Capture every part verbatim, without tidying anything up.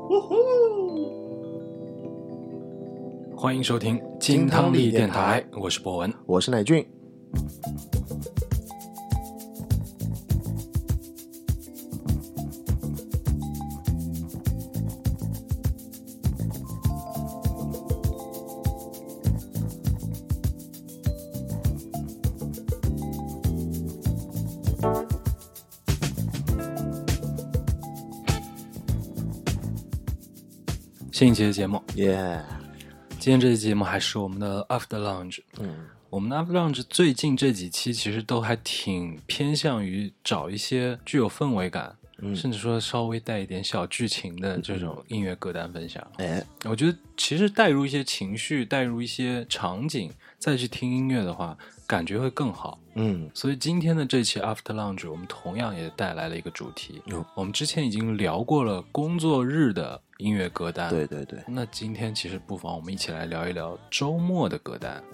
欢迎收听金汤力电台，我是博文， 我是乃俊。 新一期的节目， 耶、 yeah ！今天这期节目还是我们的 After Lounge。嗯，我们的 After Lounge 最近这几期其实都还挺偏向于找一些具有氛围感，嗯、甚至说稍微带一点小剧情的这种音乐歌单分享。哎、嗯，我觉得其实带入一些情绪，带入一些场景，再去听音乐的话，感觉会更好。嗯，所以今天的这期 After Lounge 我们同样也带来了一个主题。嗯、我们之前已经聊过了工作日的音乐歌单， 对对对。 那今天其实不妨我们一起来聊一聊周末的歌单。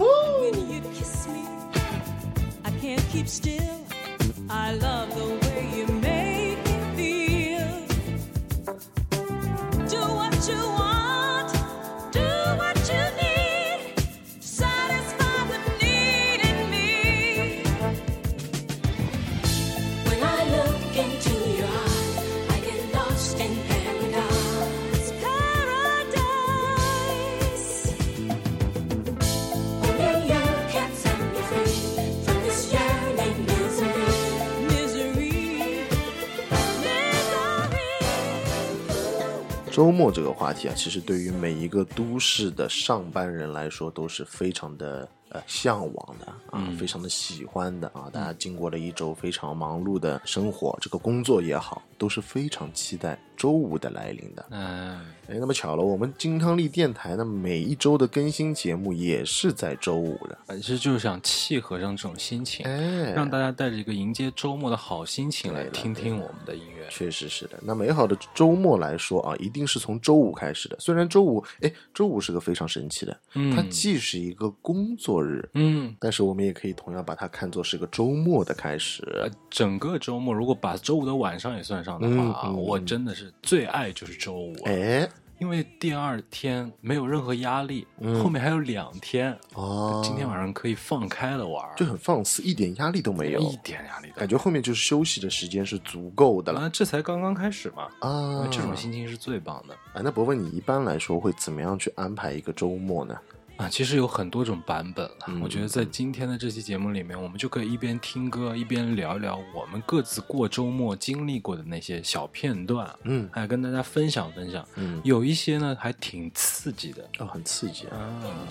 周末这个话题啊，其实对于每一个都市的上班人来说都是非常的呃向往的啊、嗯，非常的喜欢的啊。大家经过了一周非常忙碌的生活，这个工作也好，都是非常期待周五的来临的。嗯，哎，那么巧了，我们金汤力电台呢，每一周的更新节目也是在周五的。 其实就是想契合上这种心情，哎，让大家带着一个迎接周末的好心情来听听我们的音乐。 确实是的。那美好的周末来说啊，一定是从周五开始的。虽然周五，哎，周五是个非常神奇的，嗯，它既是一个工作日，嗯，但是我们也可以同样把它看作是个周末的开始。 呃、整个周末，如果把周五的晚上也算上的话，嗯嗯、我真的是最爱就是周五、啊。哎。因为第二天没有任何压力、嗯、后面还有两天哦，今天晚上可以放开了玩， 就很放肆，一点压力都没有， 一点压力都没有， 感觉后面就是休息的时间是足够的了、 啊、这才刚刚开始嘛啊，这种心情是最棒的啊。那伯伯，你一般来说会怎么样去安排一个周末呢？ 啊，其实有很多种版本了、嗯、我觉得在今天的这期节目里面，我们就可以一边听歌一边聊一聊我们各自过周末经历过的那些小片段，嗯，还跟大家分享分享，嗯，有一些呢还挺刺激的哦，很刺激啊。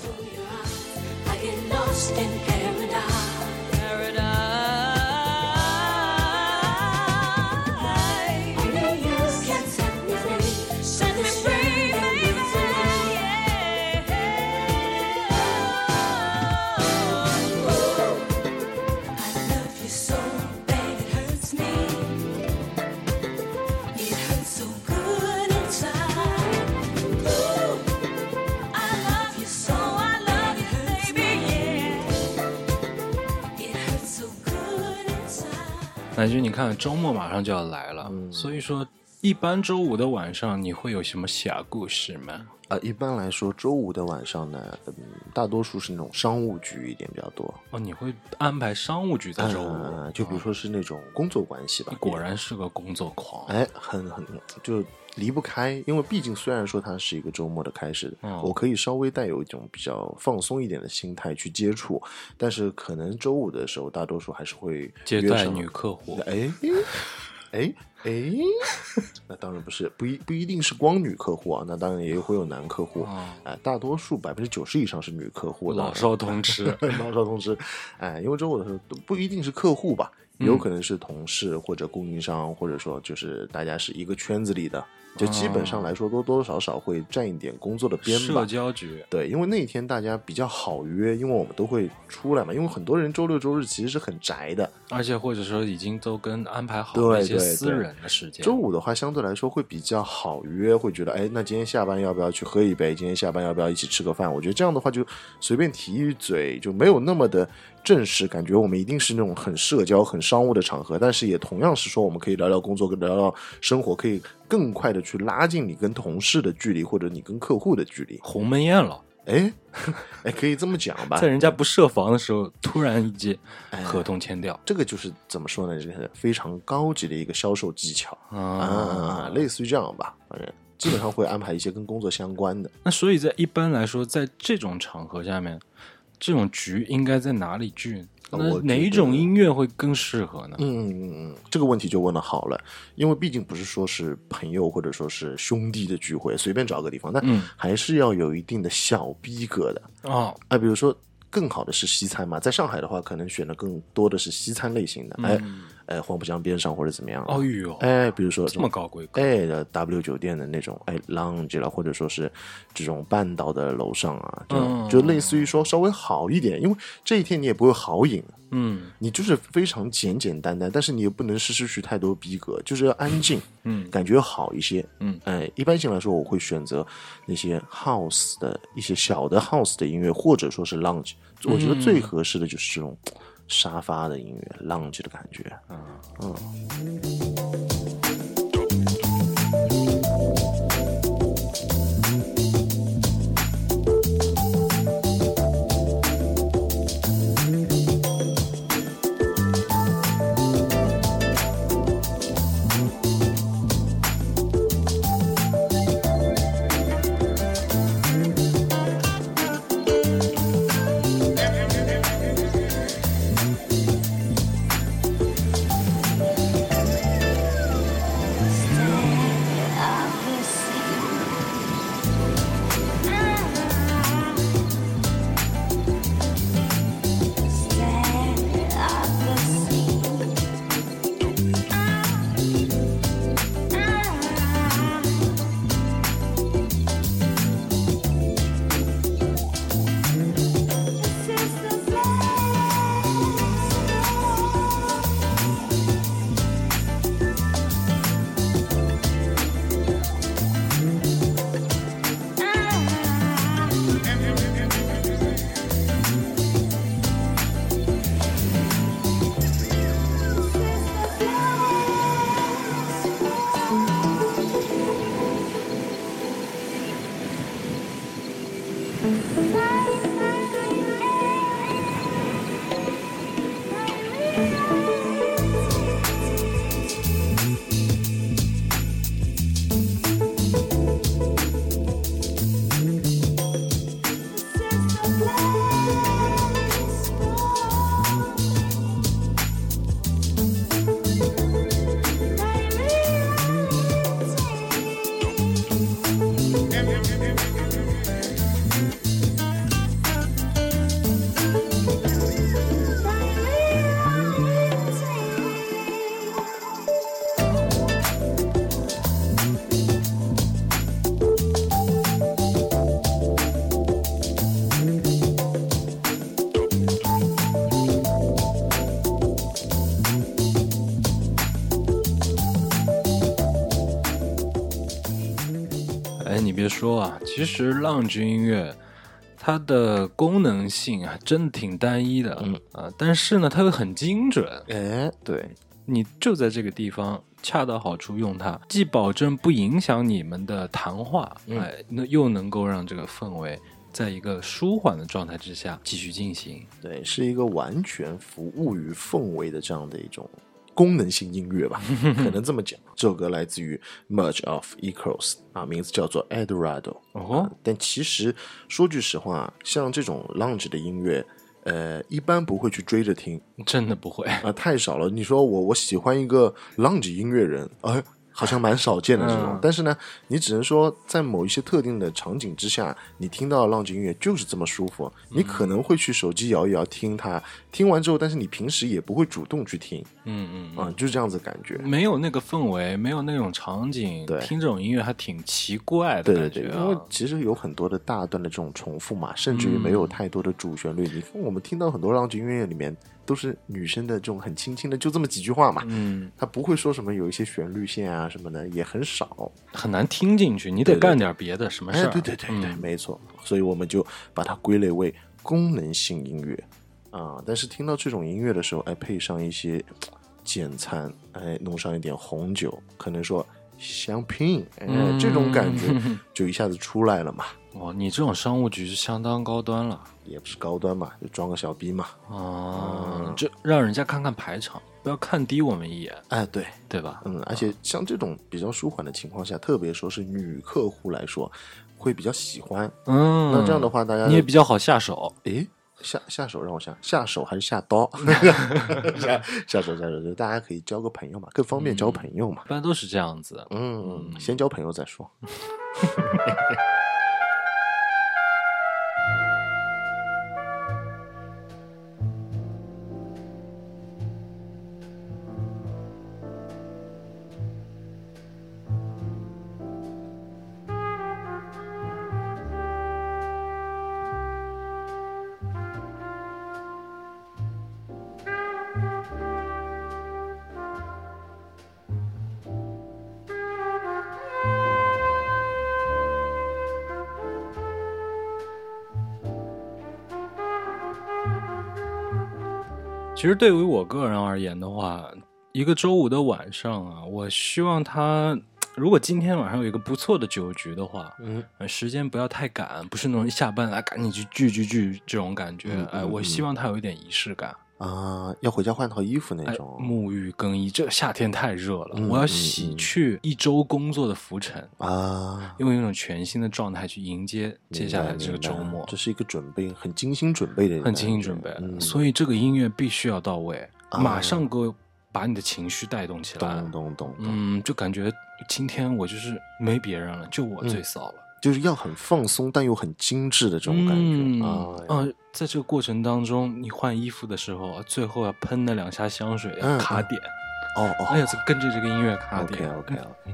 乃君，你看周末马上就要来了、嗯、所以说一般周五的晚上你会有什么小故事吗？ 呃，一般来说周五的晚上呢、嗯、大多数是那种商务局一点比较多。 哦，你会安排商务局在周五、 呃、就比如说是那种工作关系吧、 哦、果然是个工作狂。 哎，很很就离不开，因为毕竟虽然说它是一个周末的开始、嗯、我可以稍微带有一种比较放松一点的心态去接触，但是可能周五的时候大多数还是会接待女客户。 哎哎哎，那当然不是，不一不一定是光女客户啊，那当然也会有男客户，哎、哦呃，大多数百分之九十以上是女客户的， 老少通吃， 老少通吃，哎，因为周五的时候都不一定是客户吧，有可能是同事或者供应商，或者说就是大家是一个圈子里的。就基本上来说多多少少会占一点工作的边吧， 社交局。 对，因为那天大家比较好约，因为我们都会出来嘛，因为很多人周六周日其实是很宅的， 而且或者说已经都跟安排好了一些私人的时间。 周五的话相对来说会比较好约，会觉得哎，那今天下班要不要去喝一杯，今天下班要不要一起吃个饭，我觉得这样的话就随便提一嘴，就没有那么的正式，感觉我们一定是那种很社交很商务的场合，但是也同样是说我们可以聊聊工作聊聊生活，可以更快的去拉近你跟同事的距离，或者你跟客户的距离。 鸿门宴了。 哎，哎，可以这么讲吧， 在人家不设防的时候，突然一记合同签掉， 哎、这个就是怎么说呢？这是非常高级的一个销售技巧啊、啊，类似于这样吧，反正基本上会安排一些跟工作相关的。 那所以在一般来说，在这种场合下面，这种局应该在哪里聚？那哪一种音乐会更适合呢？ 嗯嗯嗯，这个问题就问得好了，因为毕竟不是说是朋友或者说是兄弟的聚会，随便找个地方，那还是要有一定的小逼格的哦。 啊，比如说更好的是西餐嘛，在上海的话，可能选的更多的是西餐类型的，嗯、哎。哎，黄浦江边上或者怎么样？ 哦哟， 哎，比如说这么高规格， 哎的 W 酒店的那种，哎 lounge 了，或者说是这种半岛的楼上啊，就、嗯、就类似于说稍微好一点，因为这一天你也不会豪饮， 嗯， 你就是非常简简单单，但是你也不能失失去太多逼格，就是要安静， 嗯， 感觉好一些， 嗯， 哎，一般性来说，我会选择那些 house 的一些小的 house 的音乐，或者说是 lounge，、嗯、我觉得最合适的就是这种。沙发的音乐 lounge 的感觉嗯嗯哎，你别说啊，其实 lounge 音乐它的功能性啊，真的挺单一的， 嗯啊，但是呢，它又很精准。 哎，对， 你就在这个地方恰到好处用它，既保证不影响你们的谈话， 嗯、 哎，那又能够让这个氛围在一个舒缓的状态之下继续进行。 对，是一个完全服务于氛围的这样的一种功能性音乐吧，可能这么讲。这首歌来自于 Merge of Equals 啊，名字叫做 Eldorado、 哦啊、但其实说句实话，像这种 lounge 的音乐呃，一般不会去追着听， 真的不会啊、呃，太少了。你说我我喜欢一个 lounge 音乐人，哎，好像蛮少见的这种、嗯。但是呢，你只能说在某一些特定的场景之下，你听到 lounge 音乐就是这么舒服，你可能会去手机摇一摇听它，听完之后，但是你平时也不会主动去听， 嗯嗯啊、呃，就是这样子感觉， 没有那个氛围，没有那种场景， 对， 听这种音乐还挺奇怪的感觉、啊。 对对对，因为其实有很多的大段的这种重复嘛，甚至于没有太多的主旋律。嗯、你看我们听到很多 lounge 音乐里面。都是女生的这种很轻轻的，就这么几句话嘛， 嗯， 她不会说什么有一些旋律线啊什么的，也很少， 很难听进去，你得干点别的，对对对什么事儿、 哎？对对对对、嗯，没错，所以我们就把它归类为功能性音乐啊。但是听到这种音乐的时候，哎，配上一些简餐，哎，弄上一点红酒，可能说香槟，哎、嗯，这种感觉就一下子出来了嘛。 哦，你这种商务局是相当高端了。 也不是高端嘛，就装个小逼嘛。 哦、嗯，这让人家看看排场，不要看低我们一眼。 哎，对， 对吧？ 嗯，而且像这种比较舒缓的情况下，特别说是女客户来说，会比较喜欢。 嗯， 那这样的话，大家你也比较好下手。 诶，下下手让我想，下手还是下刀？下下手下手，就大家可以交个朋友嘛，更方便交朋友嘛。 一般都是这样子。 嗯，嗯先交朋友再说。 其实对于我个人而言的话，一个周五的晚上啊，我希望他如果今天晚上有一个不错的酒局的话， 嗯， 时间不要太赶，不是那种一下班来赶紧去聚聚聚这种感觉。 嗯、 哎，我希望他有一点仪式感啊、呃，要回家换套衣服那种。 哎、沐浴更衣，这夏天太热了， 嗯、 我要洗去一周工作的浮尘啊， 用一种全新的状态去迎接接下来这个周末。 这是一个准备很精心准备的， 很精心准备、 嗯， 所以这个音乐必须要到位， 啊、 马上给我把你的情绪带动起来。 懂懂懂， 嗯，就感觉今天我就是没别人了，就我最骚了、嗯， 就是要很放松但又很精致的这种感觉、 嗯、 啊。 呃，在这个过程当中，你换衣服的时候，最后要喷那两下香水，要卡点。 哦哦， 哎呀，跟着这个音乐卡点。 OK OK OK。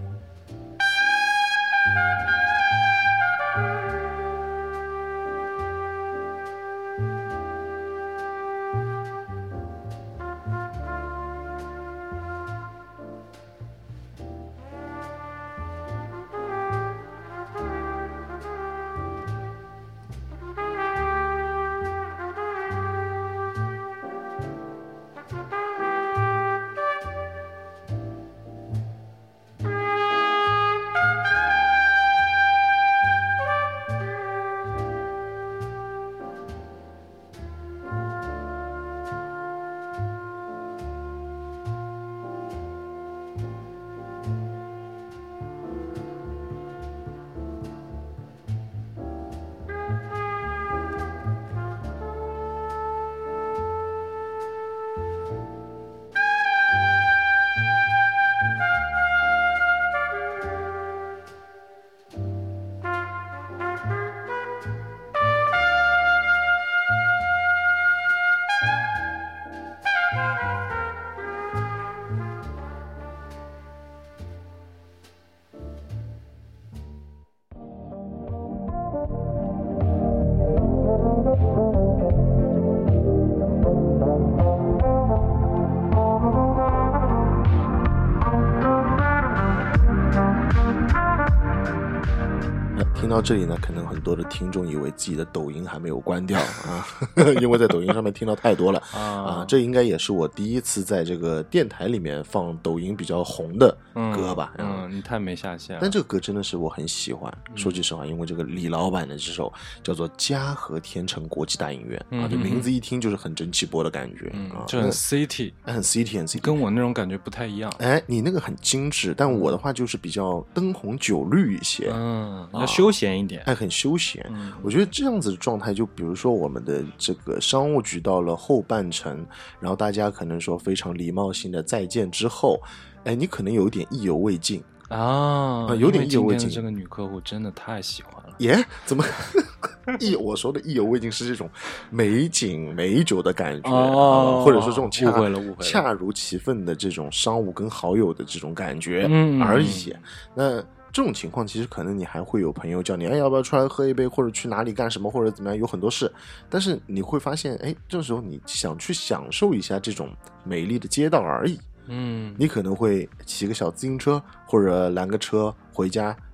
听到这里呢，可能很多的听众以为自己的抖音还没有关掉啊，因为在抖音上面听到太多了啊, 啊。这应该也是我第一次在这个电台里面放抖音比较红的歌吧。 嗯，嗯你太没下限了。 但这个歌真的是我很喜欢，说句实话，因为这个李老板的这首叫做《嘉禾天成国际大影院》啊，这名字一听就是很蒸汽波的感觉、 嗯、 啊， 就很 city， 很 city， 很 city， 跟我那种感觉不太一样。 哎，你那个很精致，但我的话就是比较灯红酒绿一些， 嗯，要休闲一点， 哎，很休闲、 嗯。 我觉得这样子的状态，就比如说我们的这个商务局到了后半程，然后大家可能说非常礼貌性的再见之后，哎，你可能有一点意犹未尽。 啊、 呃，有点意犹未尽。 这个女客户真的太喜欢了。 耶、yeah? 怎么意我说的意犹未尽是这种美景美酒的感觉、 哦、 或者说这种恰误会了误会了恰如其分的这种商务跟好友的这种感觉嗯而已。那这种情况其实可能你还会有朋友叫你，哎，要不要出来喝一杯，或者去哪里干什么，或者怎么样，有很多事。但是你会发现，哎，这时候你想去享受一下这种美丽的街道而已。 嗯， 你可能会骑个小自行车或者拦个车回家，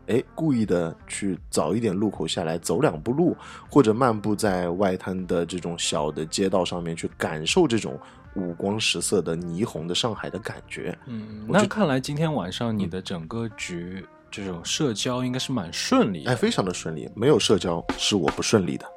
哎，故意的去早一点路口下来走两步路，或者漫步在外滩的这种小的街道上面，去感受这种五光十色的霓虹的上海的感觉。 嗯，那看来今天晚上你的整个局、嗯、这种社交应该是蛮顺利的。 哎，非常的顺利，没有社交是我不顺利的。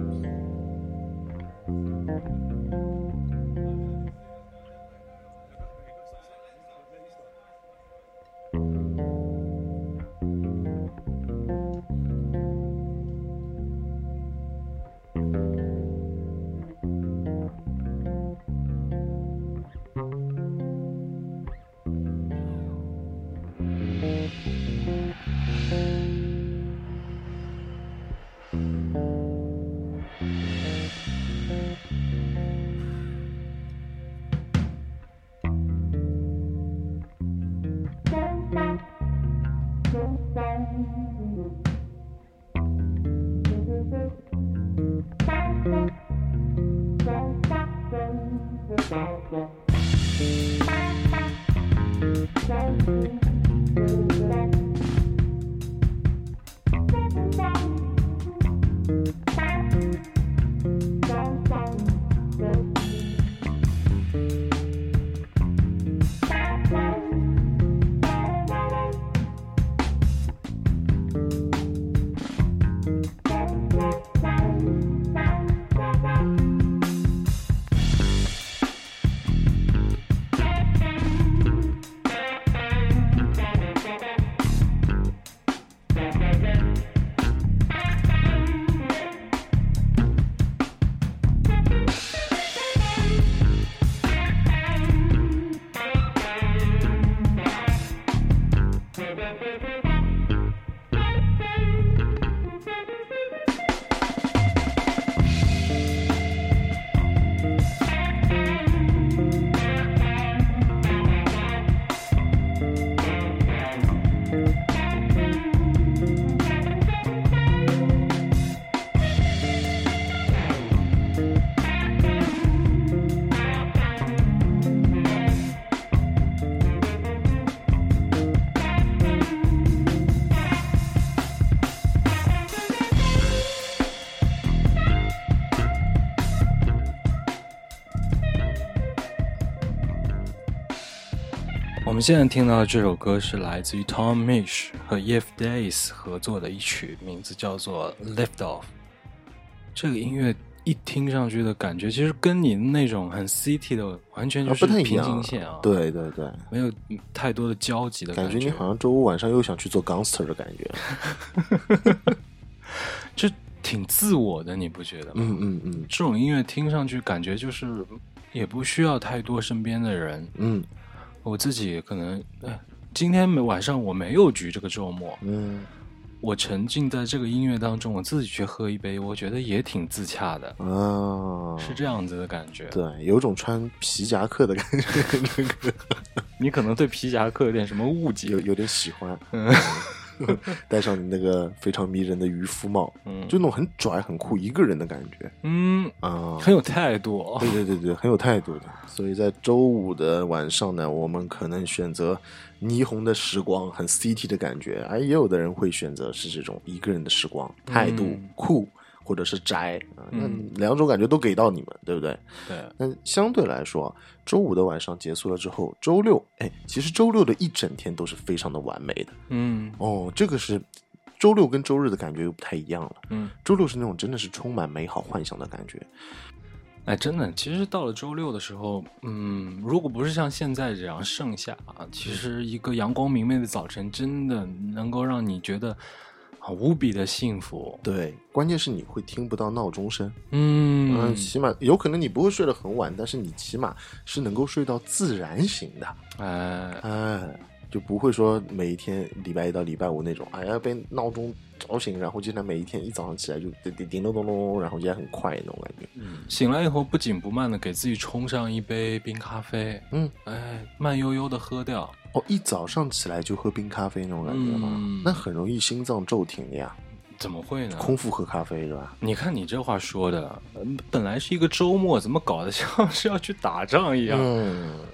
我们现在听到的这首歌是来自于 Tom Misch 和 Yves Days 合作的一曲，名字叫做 Lift Off。 这个音乐一听上去的感觉其实跟你那种很 city 的完全就是平行线啊， 对对对， 没有太多的交集的感觉， 感觉你好像周五晚上又想去做 gangster 的感觉就挺自我的，你不觉得吗？ 嗯嗯嗯， 这种音乐听上去感觉就是也不需要太多身边的人。 嗯， 我自己可能、哎、今天晚上我没有局，这个周末， 嗯， 我沉浸在这个音乐当中，我自己去喝一杯，我觉得也挺自洽的啊， 是这样子的感觉。 对，有种穿皮夹克的感觉你可能对皮夹克有点什么误解， 有有点喜欢。嗯戴上你那个非常迷人的渔夫帽， 嗯， 就那种很拽很酷一个人的感觉， 嗯啊， 很有态度、哦、 对对对对，很有态度的。所以在周五的晚上呢，我们可能选择霓虹的时光，很 city 的感觉，而也有的人会选择是这种一个人的时光，态度、嗯、酷或者是宅啊，那两种感觉都给到你们，对不对？ 对。 那相对来说，周五的晚上结束了之后，周六，哎，其实周六的一整天都是非常的完美的。 嗯， 哦，这个是周六跟周日的感觉又不太一样了。 嗯， 周六是那种真的是充满美好幻想的感觉。 哎，真的，其实到了周六的时候，嗯，如果不是像现在这样盛夏啊，其实一个阳光明媚的早晨，真的能够让你觉得无比的幸福。 对，关键是你会听不到闹钟声。 嗯、 呃、起码有可能你不会睡得很晚，但是你起码是能够睡到自然醒的。 哎哎，就不会说每一天礼拜一到礼拜五那种，哎呀被闹钟吵醒，然后经常每一天一早上起来就叮叮咚咚咚，然后也很快那种感觉。 嗯，醒来以后不紧不慢的给自己冲上一杯冰咖啡， 嗯， 哎，慢悠悠的喝掉。 哦，一早上起来就喝冰咖啡那种感觉吗？ 嗯、 那很容易心脏骤停的呀。 怎么会呢？ 空腹喝咖啡是吧？ 你看你这话说的，本来是一个周末，怎么搞得像是要去打仗一样？ 嗯，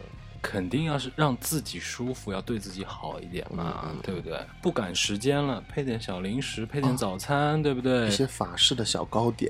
肯定要是让自己舒服，要对自己好一点嘛，嗯、对不对？不赶时间了，配点小零食，配点早餐，哦、对不对？ 一些法式的小糕点，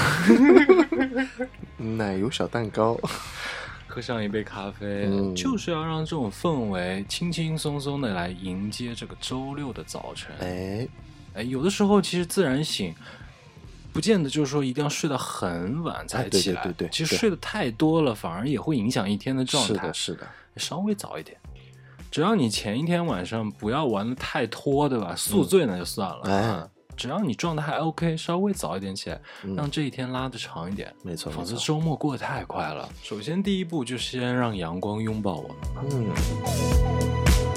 奶油小蛋糕。 喝上一杯咖啡、嗯、就是要让这种氛围轻轻松松的来迎接这个周六的早晨。 哎哎，有的时候其实自然醒不见得就是说一定要睡到很晚才起来、 哎、对对对对， 其实睡得太多了反而也会影响一天的状态。 是的是的， 稍微早一点，只要你前一天晚上不要玩得太拖，对吧？宿醉那就算了、嗯哎只要你状态还 OK， 稍微早一点起来、嗯、让这一天拉得长一点， 没错， 否则周末过得太快了。首先第一步就先让阳光拥抱我们。嗯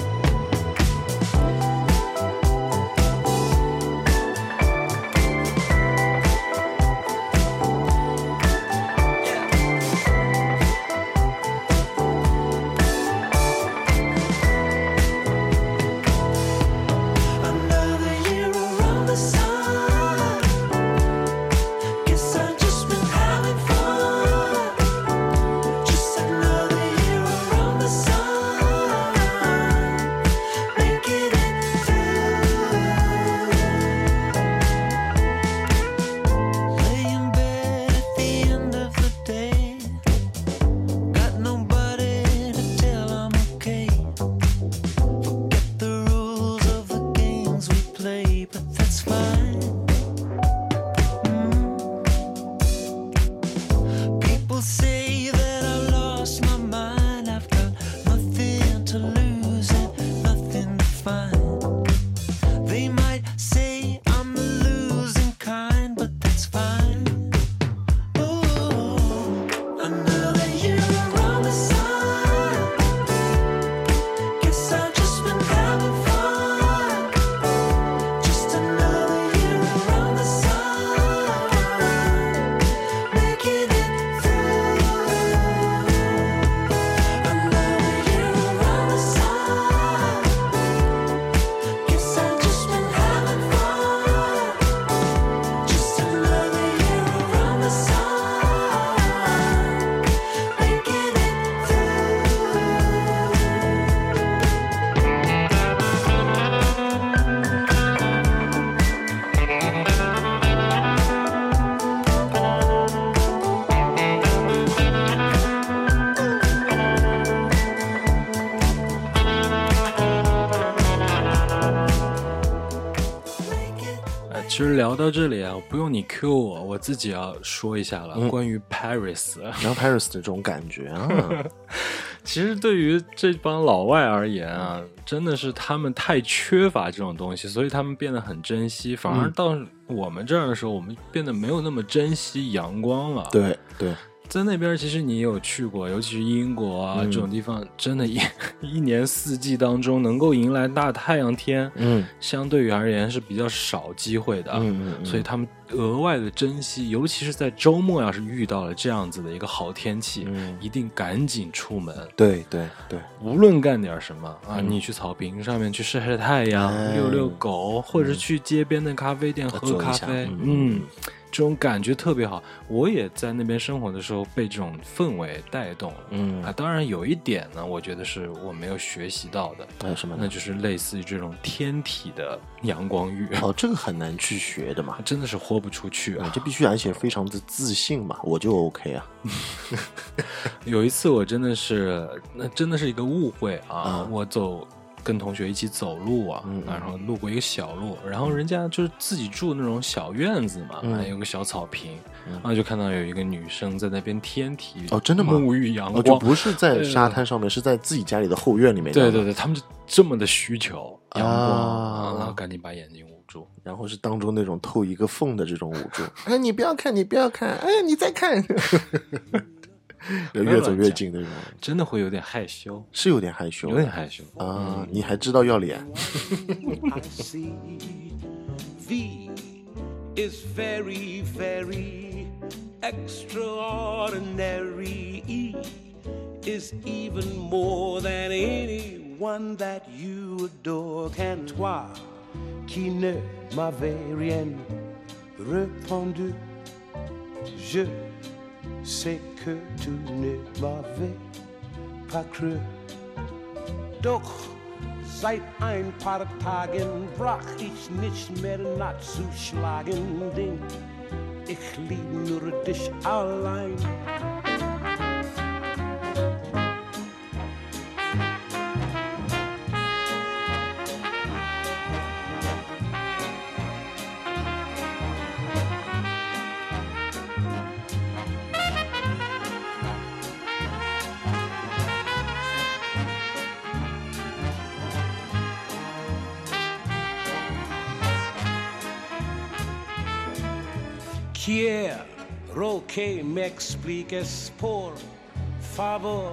其实聊到这里啊，不用你 Q 我，我自己要说一下了、嗯、关于 Paris， 然后 Paris 的这种感觉啊， 其实对于这帮老外而言啊，真的是他们太缺乏这种东西，所以他们变得很珍惜，反而到我们这儿的时候、嗯、我们变得没有那么珍惜阳光了。 对对， 在那边其实你也有去过，尤其是英国啊、嗯、这种地方，真的一一年四季当中能够迎来大太阳天，嗯，相对于而言是比较少机会的，嗯嗯嗯，所以他们额外的珍惜，尤其是在周末要是遇到了这样子的一个好天气，嗯，一定赶紧出门。 对对对， 无论干点什么啊、嗯，你去草坪上面去晒晒太阳、哎、遛遛狗，或者是去街边的咖啡店、嗯、喝咖啡，嗯。嗯这种感觉特别好，我也在那边生活的时候被这种氛围带动了。嗯啊，当然有一点呢，我觉得是我没有学习到的。 还有什么？ 那就是类似于这种天体的阳光浴。 哦，这个很难去学的嘛， 真的是豁不出去啊！ 这必须而且非常的自信嘛，我就 OK 啊。 有一次我真的是，那真的是一个误会啊！嗯、我走。跟同学一起走路啊、嗯，然后路过一个小路，然后人家就是自己住那种小院子嘛，嗯、还有个小草坪、嗯，然后就看到有一个女生在那边天体哦，真的吗？ 沐浴阳光， 哦，就不是在沙滩上面，是在自己家里的后院里面。 对对对，他们就这么的需求阳光，啊、然后赶紧把眼睛捂住， 然后是当中那种透一个缝的这种捂住。哎，你不要看，你不要看，哎，你再看。越走越近的人， 真的会有点害羞， 是有点害羞， 有点害羞啊、嗯！你还知道要脸。 I see V is very, very extraordinary. E is even more than anyone that you adore. Can toi qui ne m'avais rien répondu, je sais que tu ne m'avais pas cru. doch seit ein paar Tagen brach ich nicht mehr nachzuschlagen, denn ich lieb nur dich allein. Quiero que me expliques por favor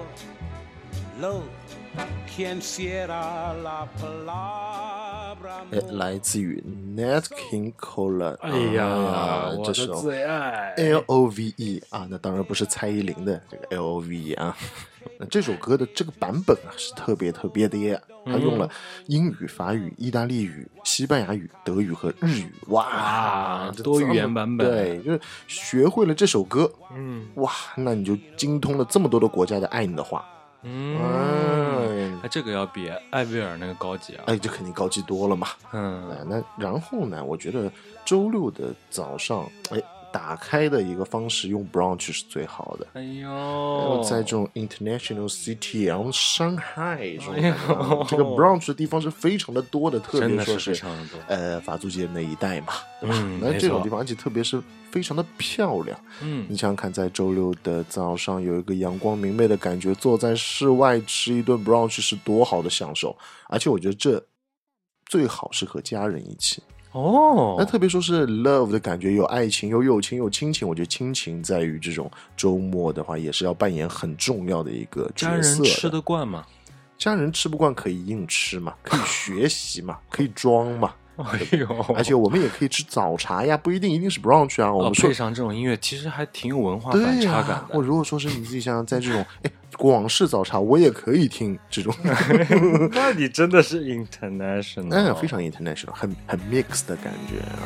lo quien será la palabra 来自于 Nat King Cole， 哎呀， 啊、 我的这首最爱 L O V E 啊，那当然不是蔡依林的这个 L O V E 啊。那这首歌的这个版本啊是特别特别的耶，它用了英语、法语、意大利语、西班牙语、德语和日语，哇， 多语言版本， 对，就是学会了这首歌， 嗯， 哇，那你就精通了这么多的国家的爱你的话， 嗯，哎，这个要比艾薇儿那个高级啊， 哎，这肯定高级多了嘛， 嗯， 哎，那然后呢，我觉得周六的早上，哎。打开的一个方式用 brunch 是最好的。 哎呦， 在这种 international city， 然后上海这种、哎、这个 brunch 的地方是非常的多的，特别说是呃法租界那一带嘛，对吧？ 嗯、 那这种地方，而且特别是非常的漂亮。 嗯， 你想想看，在周六的早上有一个阳光明媚的感觉，坐在室外吃一顿 brunch 是多好的享受。而且我觉得这最好是和家人一起。 哦， 那特别说是 love 的感觉，有爱情，有友情，有亲情。我觉得亲情在于这种周末的话，也是要扮演很重要的一个角色的。 家人吃得惯吗？ 家人吃不惯可以硬吃嘛，可以学习嘛，可以装嘛。 哎呦， 而且我们也可以吃早茶呀，不一定一定是 brunch 啊。我们说、 哦、配上这种音乐，其实还挺有文化反差感的。 我、啊、如果说是你自己想想，在这种哎广式早茶，我也可以听这种。 那你真的是 international， 嗯，非常 international， 很很 mix 的感觉啊。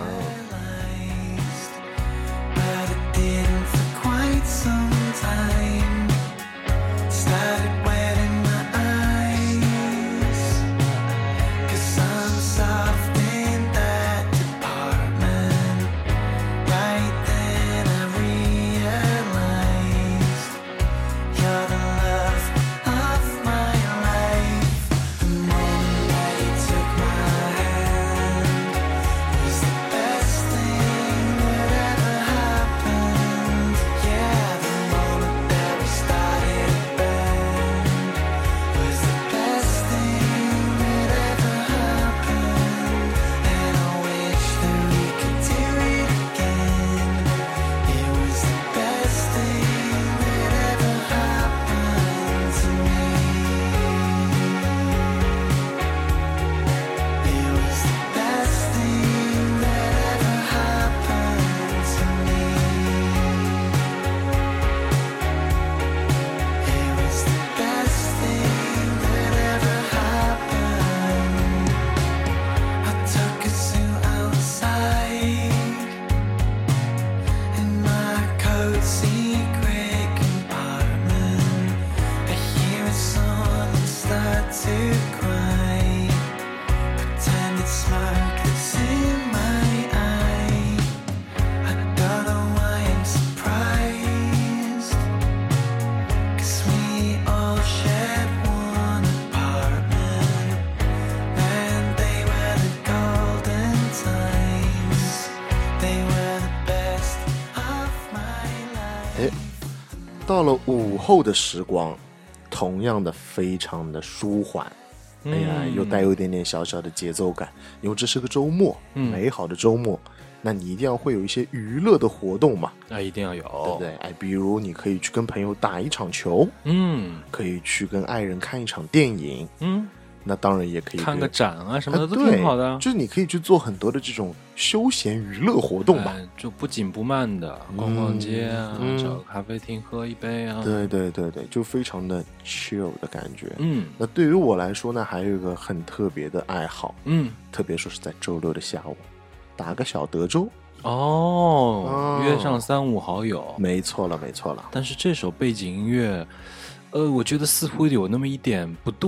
到了午后的时光，同样的非常的舒缓，哎呀，又带有一点点小小的节奏感，因为这是个周末，嗯、美好的周末，那你一定要会有一些娱乐的活动嘛， 那、啊、一定要有， 对不对？哎，比如你可以去跟朋友打一场球，嗯，可以去跟爱人看一场电影，嗯。那当然也可以看个展啊什么的都挺好的、啊、 就是你可以去做很多的这种休闲娱乐活动吧、 哎、就不紧不慢的逛逛街啊、嗯、找个咖啡厅喝一杯啊， 对对对对，就非常的 chill 的感觉。嗯，那对于我来说呢，还有一个很特别的爱好，嗯，特别说是在周六的下午打个小德州。 哦，约上三五好友， 没错了没错了。 但是这首背景音乐呃，我觉得似乎有那么一点不对。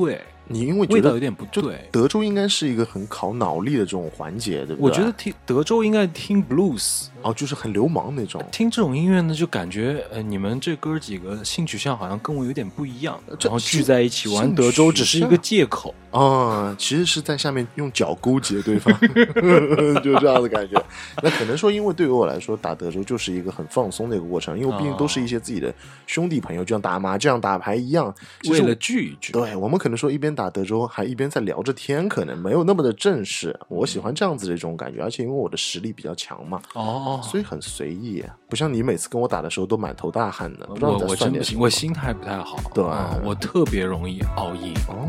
你因为味道有点不对。 德州应该是一个很考脑力的这种环节，对不对？ 我觉得听德州应该听 blues， 哦，就是很流氓那种。 听这种音乐呢，就感觉呃，你们这哥几个性取向好像跟我有点不一样，然后聚在一起玩德州只是一个借口啊、哦，其实是在下面用脚勾结对方，就这样的感觉。那可能说，因为对于我来说，打德州就是一个很放松的一个过程，因为毕竟都是一些自己的兄弟朋友，就像打麻将、打牌一样， 为了聚一聚。 对，我们可能说一边打德州，还一边在聊着天，可能没有那么的正式。我喜欢这样子的一种感觉，而且因为我的实力比较强嘛， 哦， 所以很随意，不像你每次跟我打的时候都满头大汗的。不知道我我真不行，我心态不太好， 对、 嗯，我特别容易熬夜。 哦。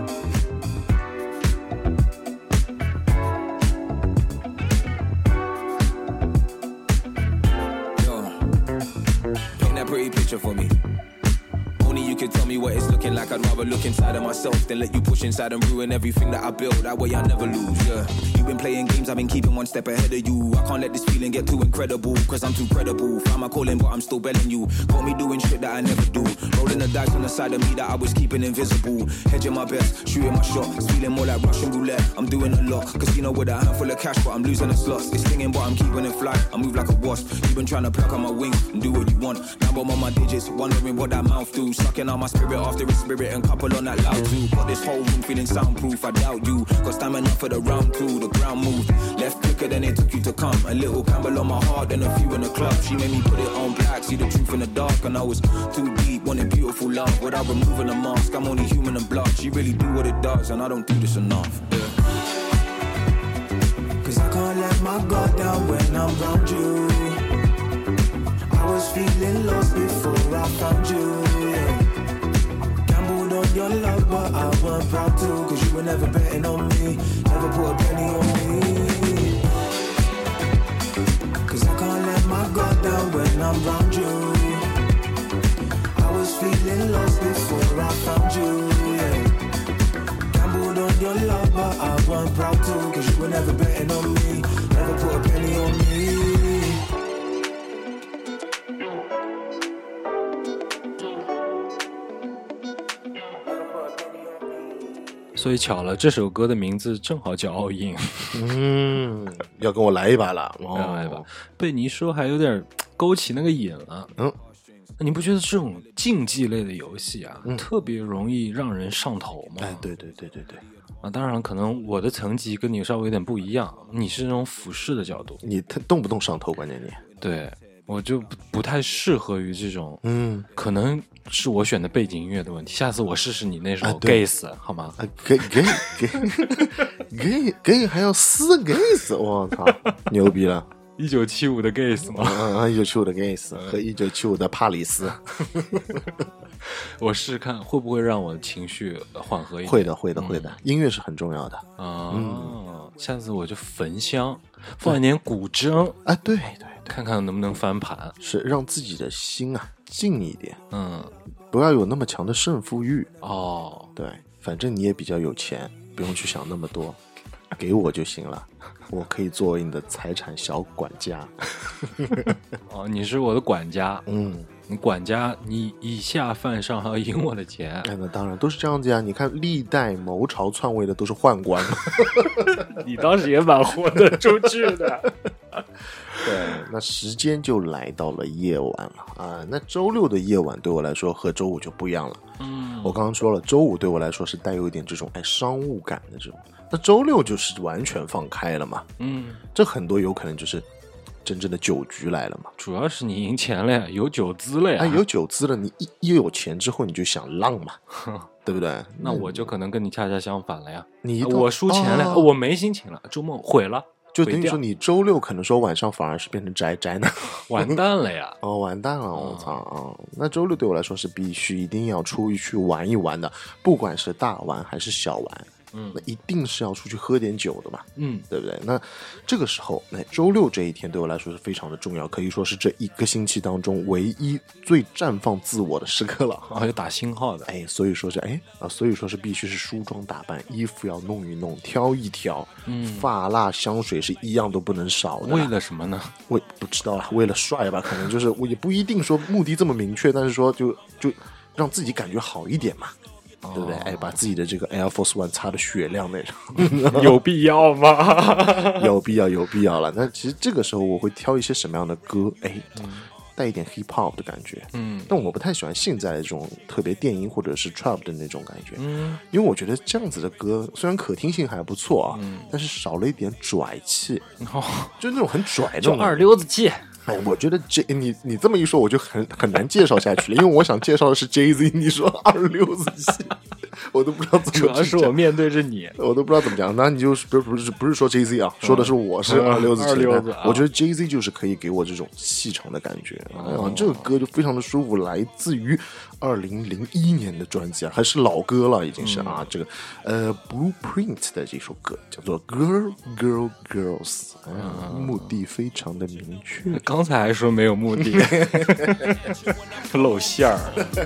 For me, only you can tell me what it's looking like. I'd rather look inside of myself than let you push inside and ruin everything that I built. That way I never lose. Yeah, you've been playing games, I've been keeping one step ahead of you. I can't let this feeling get too incredible, cause I'm too credible. Found my calling, but I'm still belling you. Caught me doing shit that I never do. Rolling the dice on the side of me that I was keeping invisible. Hedging my best, shooting my shot. It's feeling more like Russian roulette. I'm doing a lot. Casino with a handful of cash, but I'm losing the slots. It's stinging, but I'm keeping it fly. I move like a wasp. You've been trying to pluck on my wings and do what you want. Now I'm on my digits, wondering what that mouth do. Sucking on my spirit after its spirit and couple on that loud too. Got this whole room feeling soundproof, I doubt you. Got stamina for the round two, the ground moved. Left quicker than it took you to come. A little Campbell on my heart and a few in the club. She made me put it on black, see the truth in the dark. And I was too deep, wanting beautiful love. Without removing the mask, I'm only human and blood. She really do what it does and I don't do this enough, yeah. Cause I can't let my guard down when I'm around you. I was feeling lost before I found you, yeah. Gambled on your love, but I weren't proud to. Cause you were never betting on me, never put a penny on me. Cause I can't let my guard down when I'm around you. I was feeling lost before I found you, yeah. Gambled on your love, but I weren't proud to. Cause you were never betting on me, never put a penny on me. 所以巧了，这首歌的名字正好叫 All In。 嗯，要跟我来一把了， 哦、来一把。被你一说，还有点勾起那个瘾了。 嗯， 你不觉得这种竞技类的游戏啊，嗯、特别容易让人上头吗？ 哎，对对对对对。 啊，当然，可能我的层级跟你稍微有点不一样，你是那种俯视的角度， 你动不动上头，关键你对。我就不不太适合于这种， 嗯， 可能是我选的背景音乐的问题。下次我试试你那首 Gays、啊、好吗？ 啊，给给给给给还要撕 Gays， 我操，牛逼了！ 一九七五的 Gays 吗？ 嗯，一九七五的 Gays 和一九七五的帕里斯。 我试试看会不会让我情绪缓和一点。 会的，会的，会的、嗯。音乐是很重要的啊、嗯！下次我就焚香，放一点古筝啊，对对。 看看能不能翻盘， 是让自己的心啊静一点， 嗯， 不要有那么强的胜负欲哦。 对，反正你也比较有钱，不用去想那么多，给我就行了，我可以作为你的财产小管家。 哦，你是我的管家， 嗯， 你管家，你以下犯上还要赢我的钱。 哎，那当然都是这样子呀。你看历代谋朝篡位的都是宦官嘛。 你当时也蛮豁得出去的。 对，那时间就来到了夜晚了啊。那周六的夜晚对我来说和周五就不一样了。 嗯， 我刚刚说了，周五对我来说是带有一点这种哎商务感的这种，那周六就是完全放开了嘛。 嗯， 这很多有可能就是真正的酒局来了嘛。 主要是你赢钱了呀，有酒资了呀。 哎，有酒资了，你一一有钱之后你就想浪嘛，对不对？ 那我就可能跟你恰恰相反了呀。 你我输钱了、哦，我没心情了，周末毁了。 就等于说你周六可能说晚上反而是变成宅宅男， 完蛋了呀！ 哦，完蛋了，我操啊！那周六对我来说是必须一定要出去玩一玩的，不管是大玩还是小玩。嗯，那一定是要出去喝点酒的嘛， 嗯， 对不对？那这个时候，那周六这一天对我来说是非常的重要，可以说是这一个星期当中唯一最绽放自我的时刻了。 啊，有打星号的， 哎，所以说是哎啊，所以说是必须是梳妆打扮，衣服要弄一弄，挑一挑， 嗯， 发蜡香水是一样都不能少的。 为了什么呢？ 为不知道了，为了帅吧，可能就是我也不一定说目的这么明确，但是说就就让自己感觉好一点嘛。 对不对？哎，把自己的这个 Air Force One 擦得雪亮那种， 有必要吗？ 有必要，有必要了。那其实这个时候我会挑一些什么样的歌？哎，嗯、带一点 hip hop 的感觉，嗯，但我不太喜欢现在这种特别电音或者是 trap 的那种感觉，嗯，因为我觉得这样子的歌虽然可听性还不错啊，嗯、但是少了一点拽气，哦、就那种很拽的， 就二溜子气。 哎，我觉得这你你这么一说，我就很很难介绍下去了，因为我想介绍的是 Jay Z， 你说二溜子气，我都不知道怎么。 主要是我面对着你， 我都不知道怎么讲。那你就不是不是不是说 Jay Z 啊，说的是我是二溜子气。 二溜子， 我觉得 Jay Z 就是可以给我这种细长的感觉啊，哦、这个歌就非常的舒服，来自于二零零一年的专辑啊，还是老歌了，已经是、嗯、啊，这个呃 Blueprint 的这首歌叫做 Girl Girl Girls， 啊、嗯，目的非常的明确。 刚才还说没有目的，露馅儿。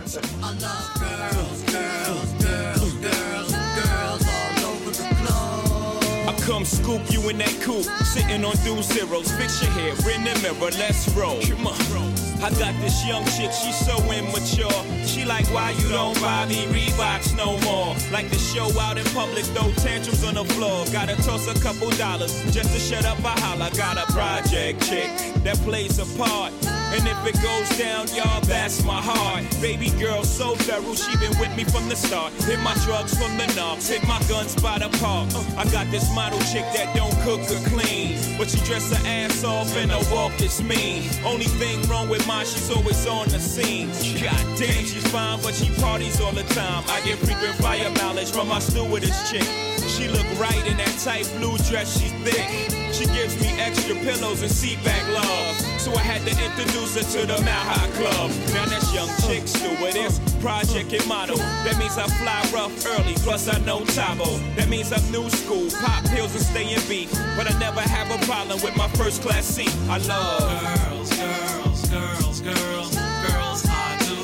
Come scoop you in that coupe, sitting on dual zeros. Fix your hair in the mirror, let's roll. Come on. I got this young chick, she's so immature. She like, why you don't buy me Reeboks no more? Like to show out in public, throw tantrums on the floor. Gotta toss a couple dollars just to shut up a holler. Got a project chick that plays a part. And if it goes down, y'all, that's my heart. Baby girl so thorough, she been with me from the start. Hit my drugs from the knobs, hit my guns by the park. Uh, I got this model chick that don't cook or clean, but she dress her ass off and her walk is mean. Only thing wrong with mine, she's always on the scene. God damn, she's fine, but she parties all the time. I get frequent fire mileage from my stewardess chick. She look right in that tight blue dress, she's thick. She gives me extra pillows and seat back love. So I had to introduce her to the Mile High Club. Now that's young chick stewardess, project and model. That means I fly rough early, plus I know Tabo. That means I'm new school, pop pills and stay in beat. But I never have a problem with my first class seat. I love girls, girls, girls, girls, girls I do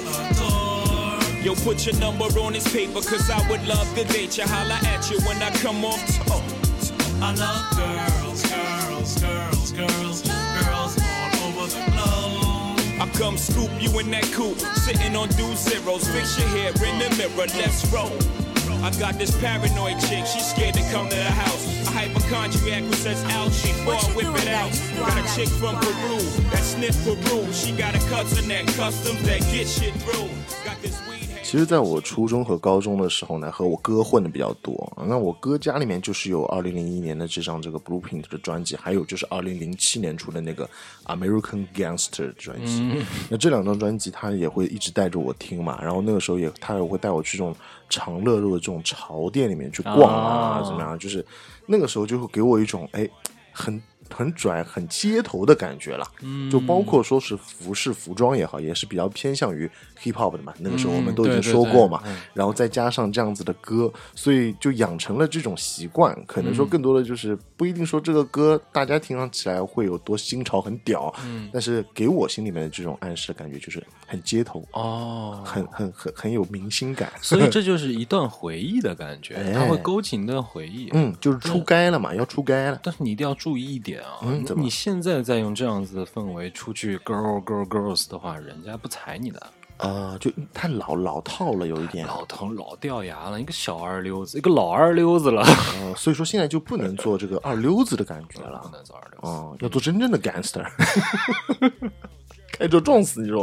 adore. Yo, put your number on this paper, cause I would love to date you. Holla at you when I come off top. I love girls, girls, girls, girls, girls all over the globe. I come scoop you in that coupe, sitting on dual zeros. Fix your hair in the mirror, let's roll. I got this paranoid chick, she's scared to come to the house. A hypochondriac who says ouch before I whip it out. Got a chick from Peru that sniff Peru. She got a cousin that customs that get shit through. Got this weed. 其实在我初中和高中的时候呢，和我哥混的比较多。那我哥家里面就是有二零零一年的这张这个 Blueprint 的专辑，还有就是二零零七年出的那个 American Gangster 的专辑、嗯、那这两张专辑他也会一直带着我听嘛，然后那个时候也他也会带我去这种长乐路的这种潮店里面去逛啊、哦、怎么样，就是那个时候就会给我一种哎很很拽很街头的感觉了、嗯、就包括说是服饰服装也好，也是比较偏向于 hip hop 的嘛，那个时候我们都已经说过嘛、嗯、对对对，然后再加上这样子的歌，所以就养成了这种习惯，可能说更多的就是不一定说这个歌大家听上起来会有多新潮很屌、嗯、但是给我心里面的这种暗示的感觉就是很街头哦，很很很很有明星感， 所以这就是一段回忆的感觉、哎、它会勾起一段回忆， 嗯，就是出街了嘛，要出街了， 但是你一定要注意一点啊、嗯、你现在再用这样子的氛围出去 girl girl girls 的话，人家不踩你的呃，就太老老套了，有一点老头老掉牙了，一个小二溜子，一个老二溜子了、 呃、所以说现在就不能做这个二溜子的感觉了， 不能做二溜子、 呃、要做真正的 gangster 开车撞死你说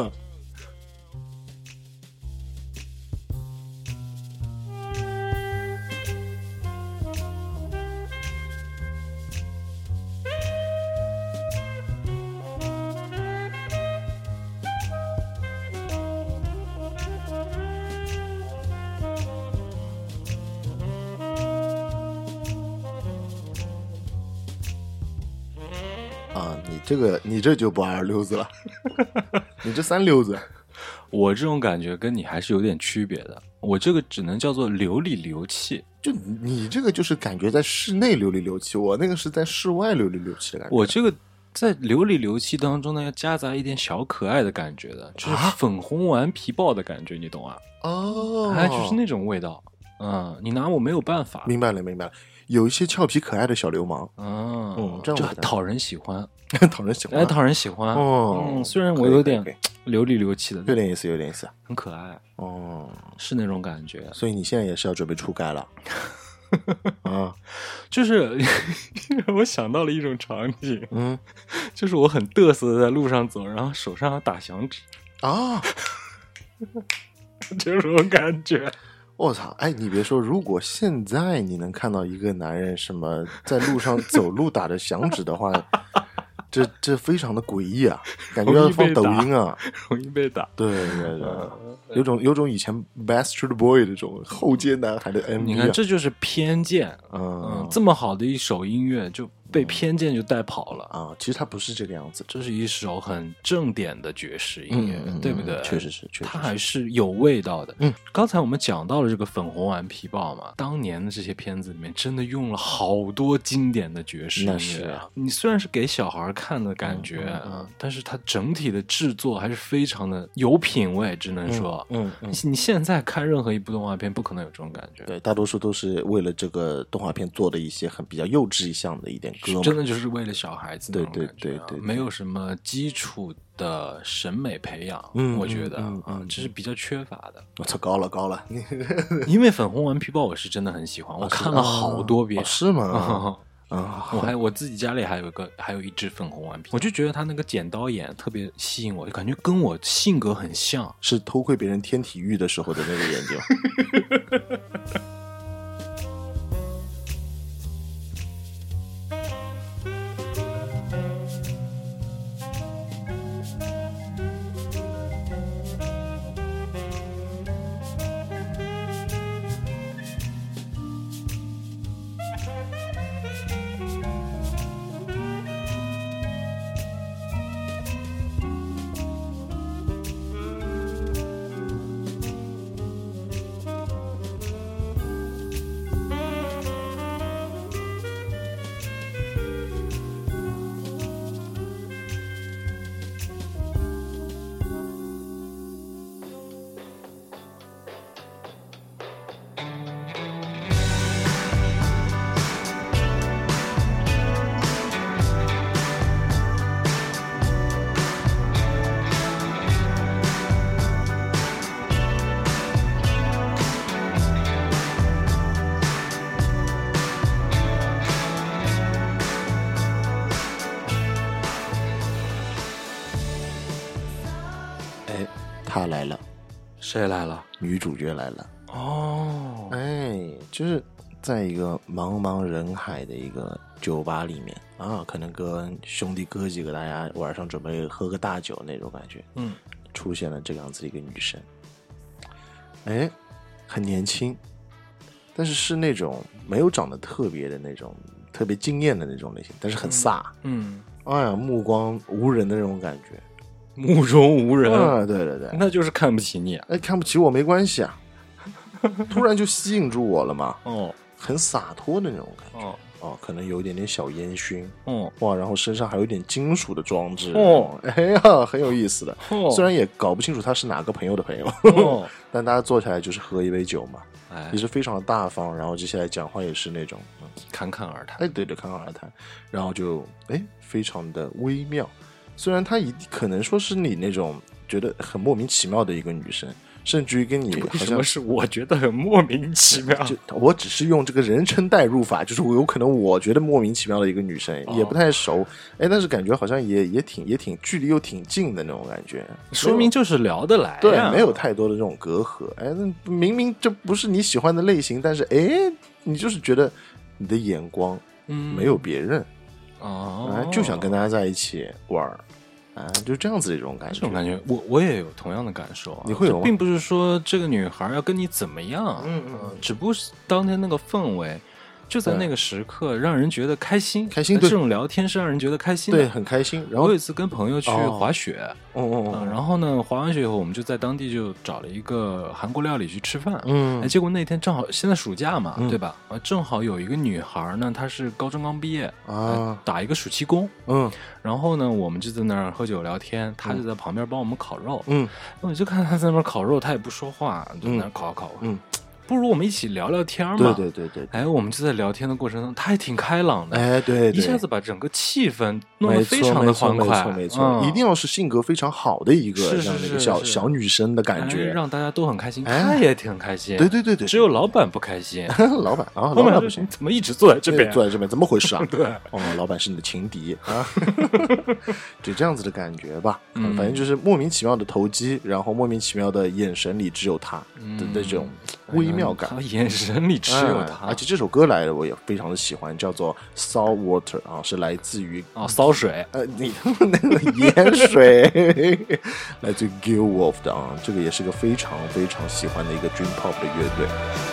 你这个你这就不二溜子了你这三溜子。 我这种感觉跟你还是有点区别的，我这个只能叫做流里流气， 就你这个就是感觉在室内流里流气，我那个是在室外流里流气的感觉。 我这个在流里流气当中呢，要夹杂一点小可爱的感觉的，就是粉红顽皮豹的感觉，你懂啊？哦，哎，就是那种味道。嗯，你拿我没有办法。 明白了，明白了。有一些俏皮可爱的小流氓， 嗯，这样就讨人喜欢， 讨人喜欢， 哎，讨人喜欢。哦，嗯，虽然我有点流里流气的， 有点意思，有点意思， 很可爱哦， 是那种感觉。 所以你现在也是要准备出街了啊？ 就是我想到了一种场景， 嗯， 就是我很嘚瑟的在路上走，然后手上要打响指啊， 这种感觉。 我操！哎，你别说，如果现在你能看到一个男人什么在路上走路打着响指的话，这这非常的诡异啊，感觉要放抖音啊， 容易被打。 对对对，有种有种以前 Backstreet Boy 这种后街男孩的 M V 啊。 你看，这就是偏见。 嗯, 嗯，这么好的一首音乐就被偏见就带跑了啊！其实它不是这个样子， 这是一首很正点的爵士音乐， 嗯、 对不对？ 确实是，确实是， 它还是有味道的。 嗯， 刚才我们讲到了这个粉红顽皮豹嘛，当年的这些片子里面真的用了好多经典的爵士音乐。 那是啊， 你虽然是给小孩看的感觉，嗯嗯嗯、但是它整体的制作还是非常的有品味，只能说， 嗯, 嗯, 嗯你现在看任何一部动画片，不可能有这种感觉。 对，大多数都是为了这个动画片做的一些很比较幼稚一项的一点歌嘛， 真的就是为了小孩子那种感觉、啊， 对对对 对, 对， 没有什么基础的审美培养， 嗯， 我觉得啊、 嗯嗯嗯， 这是比较缺乏的。 我操，高了高了！ 因为粉红顽皮豹我是真的很喜欢，我看了好多遍。 哦、是吗？ 啊，我还我自己家里还有一个，还有一只粉红顽皮，我就觉得他那个剪刀眼特别吸引我，就感觉跟我性格很像， 是偷窥别人天体育的时候的那个眼睛。他来了， 谁来了？ 女主角来了。 哦， 哎，就是在一个茫茫人海的一个酒吧里面啊，可能跟兄弟哥几个大家晚上准备喝个大酒那种感觉。 嗯， 出现了这个样子的一个女生，哎，很年轻，但是是那种没有长得特别的那种特别惊艳的那种类型，但是很飒。 嗯， 哎呀，目光无人的那种感觉。 目中无人啊，对对对， 那就是看不起你啊！ 哎，看不起我没关系啊，突然就吸引住我了嘛。 哦， 很洒脱的那种感觉。 哦哦，可能有一点点小烟熏。 哦， 哇，然后身上还有一点金属的装置。 哦， 哎呀，很有意思的。 哦， 虽然也搞不清楚他是哪个朋友的朋友， 哦， 但大家坐下来就是喝一杯酒嘛， 哎， 也是非常的大方。然后接下来讲话也是那种，嗯， 侃侃而谈。 哎，对对，侃侃而谈，然后就哎，非常的微妙。虽然她一可能说是你那种觉得很莫名其妙的一个女生，甚至于跟你好像为什么是我觉得很莫名其妙？ 就我只是用这个人称代入法，就是我有可能我觉得莫名其妙的一个女生， 哦、 也不太熟，哎，但是感觉好像也也挺也挺距离又挺近的那种感觉， 说明就是聊得来、啊， 对，没有太多的这种隔阂。哎，那明明这不是你喜欢的类型，但是哎，你就是觉得你的眼光没有别人， 嗯、哦、 哎，就想跟大家在一起玩。啊，就这样子的一种感觉， 这种感觉，我我也有同样的感受、啊。 你会有吗？ 并不是说这个女孩要跟你怎么样， 嗯嗯， 呃、只不过是当天那个氛围，就在那个时刻让人觉得开心， 开心。 这种聊天是让人觉得开心的， 对，很开心。然后我有一次跟朋友去滑雪， 哦哦哦、 呃，然后呢，滑完雪以后，我们就在当地就找了一个韩国料理去吃饭， 嗯， 哎，结果那天正好现在暑假嘛， 嗯、 对吧？啊，正好有一个女孩呢，她是高中刚毕业啊、 呃，打一个暑期工， 嗯。 然后呢，我们就在那儿喝酒聊天，他就在旁边帮我们烤肉。 嗯， 我就看他在那边烤肉，他也不说话，就在那儿烤烤。 嗯， 不如我们一起聊聊天嘛。 对对对对， 哎，我们就在聊天的过程中，他也挺开朗的， 哎，对， 一下子把整个气氛弄得非常的欢快， 没错没错， 嗯、 一定要是性格非常好的一个这样的一个小小女生的感觉， 哎，让大家都很开心， 哎、 他也挺开心。 对对对对， 只有老板不开心。 老板啊，老板不行， 怎么一直坐在这边？ 坐在这边，怎么回事啊？ 对， 哦，老板是你的情敌啊，就这样子的感觉吧。 嗯， 反正就是莫名其妙的投机，然后莫名其妙的眼神里只有他的这种微妙感。 嗯、眼神里只有他、 嗯，而且这首歌来的我也非常的喜欢，叫做 Salt Water 啊，是来自于哦骚水， 呃，你那个盐水，来自于 Gil Wolf 的啊，这个也是个非常非常喜欢的一个 Dream Pop 的乐队。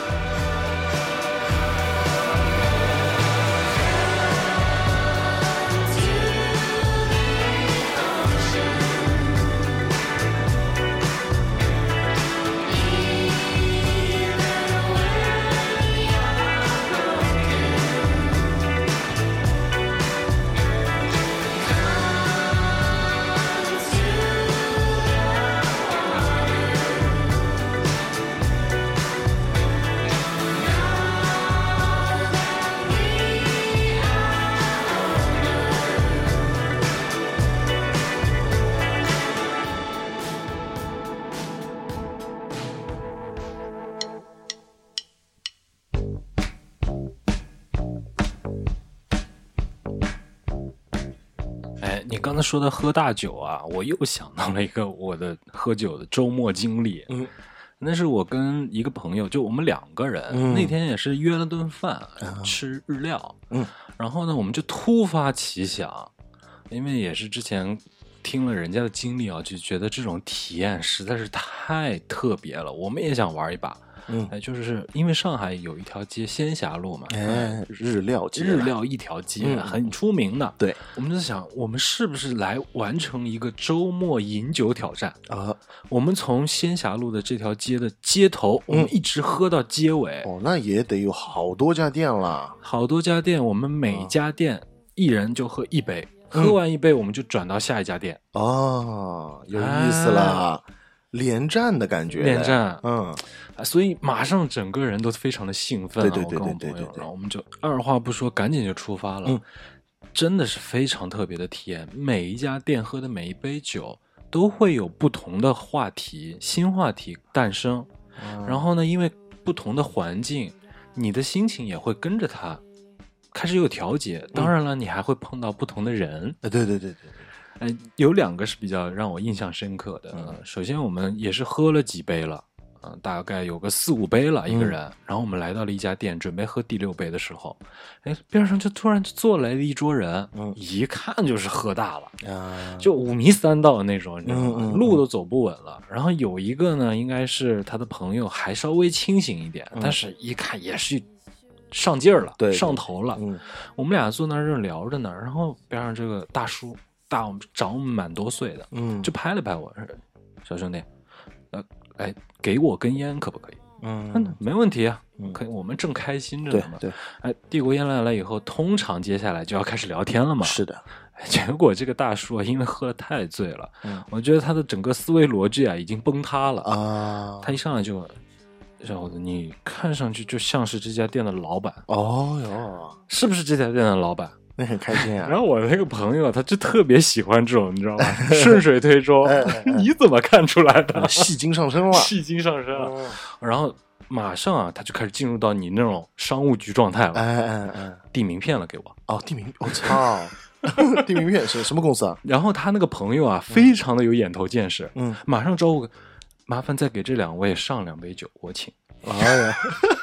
你刚才说的喝大酒啊，我又想到了一个我的喝酒的周末经历。 嗯， 那是我跟一个朋友，就我们两个人，嗯、那天也是约了顿饭、嗯、吃日料。 嗯， 然后呢，我们就突发奇想，因为也是之前听了人家的经历啊，就觉得这种体验实在是太特别了，我们也想玩一把。 嗯， 哎，就是因为上海有一条街仙霞路嘛， 哎，日料街， 日料一条街、嗯、很出名的。 对， 我们就想，我们是不是来完成一个周末饮酒挑战啊？ 我们从仙霞路的这条街的街头，我们一直喝到街尾。 嗯、哦，那也得有好多家店了， 好多家店，我们每家店一人就喝一杯，嗯、喝完一杯我们就转到下一家店。 哦，有意思了。哎，连战的感觉， 连战， 嗯， 所以马上整个人都非常的兴奋、啊， 对对对对对 对, 对, 对， 然后我们就二话不说，赶紧就出发了。 嗯， 真的是非常特别的体验，每一家店喝的每一杯酒都会有不同的话题，新话题诞生。嗯、然后呢，因为不同的环境，你的心情也会跟着它开始有调节。当然了，嗯、你还会碰到不同的人。 对对对对对。 哎，有两个是比较让我印象深刻的。嗯、首先，我们也是喝了几杯了，嗯、呃，大概有个四五杯了一个人。嗯、然后我们来到了一家店，准备喝第六杯的时候，哎，边上就突然坐来了一桌人，嗯，一看就是喝大了，啊、就五迷三道的那种，你知道吗？嗯嗯、路都走不稳了。然后有一个呢，应该是他的朋友，还稍微清醒一点，嗯、但是一看也是上劲儿了， 对， 上头了。 嗯， 我们俩坐那儿正聊着呢，然后边上这个大叔。大我们长我们蛮多岁的，嗯，就拍了拍我，小兄弟，呃，哎，给我根烟可不可以？嗯，没问题啊，嗯、可以，我们正开心着呢嘛。 对，对哎，递过烟来了以后，通常接下来就要开始聊天了嘛。 是的， 结果这个大叔啊，因为喝得太醉了，嗯，我觉得他的整个思维逻辑啊已经崩塌了啊。他一上来就，小伙子，你看上去就像是这家店的老板。 哦哟， 是不是这家店的老板？ 那很开心啊！ 然后我那个朋友他就特别喜欢这种，你知道吗？顺水推舟，哎哎哎你怎么看出来的？ 戏精上身了， 戏精上身了。哦、然后马上啊，他就开始进入到你那种商务局状态了。 哎哎哎， 递名片了给我。 哦，递名，我、哦、操！递名片是什么公司啊？ 然后他那个朋友啊，非常的有眼头见识， 嗯， 马上招呼，麻烦再给这两位上两杯酒，我请。 哎呀。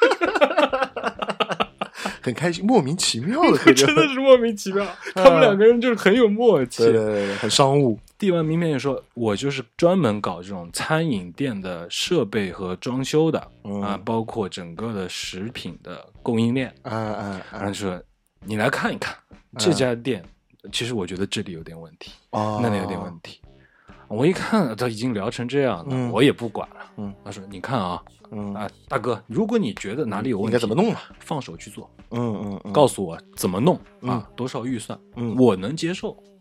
很开心，莫名其妙的， 真的是莫名其妙。他们两个人就是很有默契， 对对对，很商务。 递完名片也说，我就是专门搞这种餐饮店的设备和装修的、嗯、啊，包括整个的食品的供应链。 啊啊， 然后说你来看一看、啊、这家店，其实我觉得这里有点问题，哦、那里有点问题。我一看他已经聊成这样了，嗯、我也不管了。嗯，他说：“你看啊。”嗯啊，大哥，如果你觉得哪里有问题， 应该怎么弄啊？ 放手去做， 嗯嗯，嗯告诉我怎么弄、 嗯、 啊，多少预算， 嗯， 我能接受，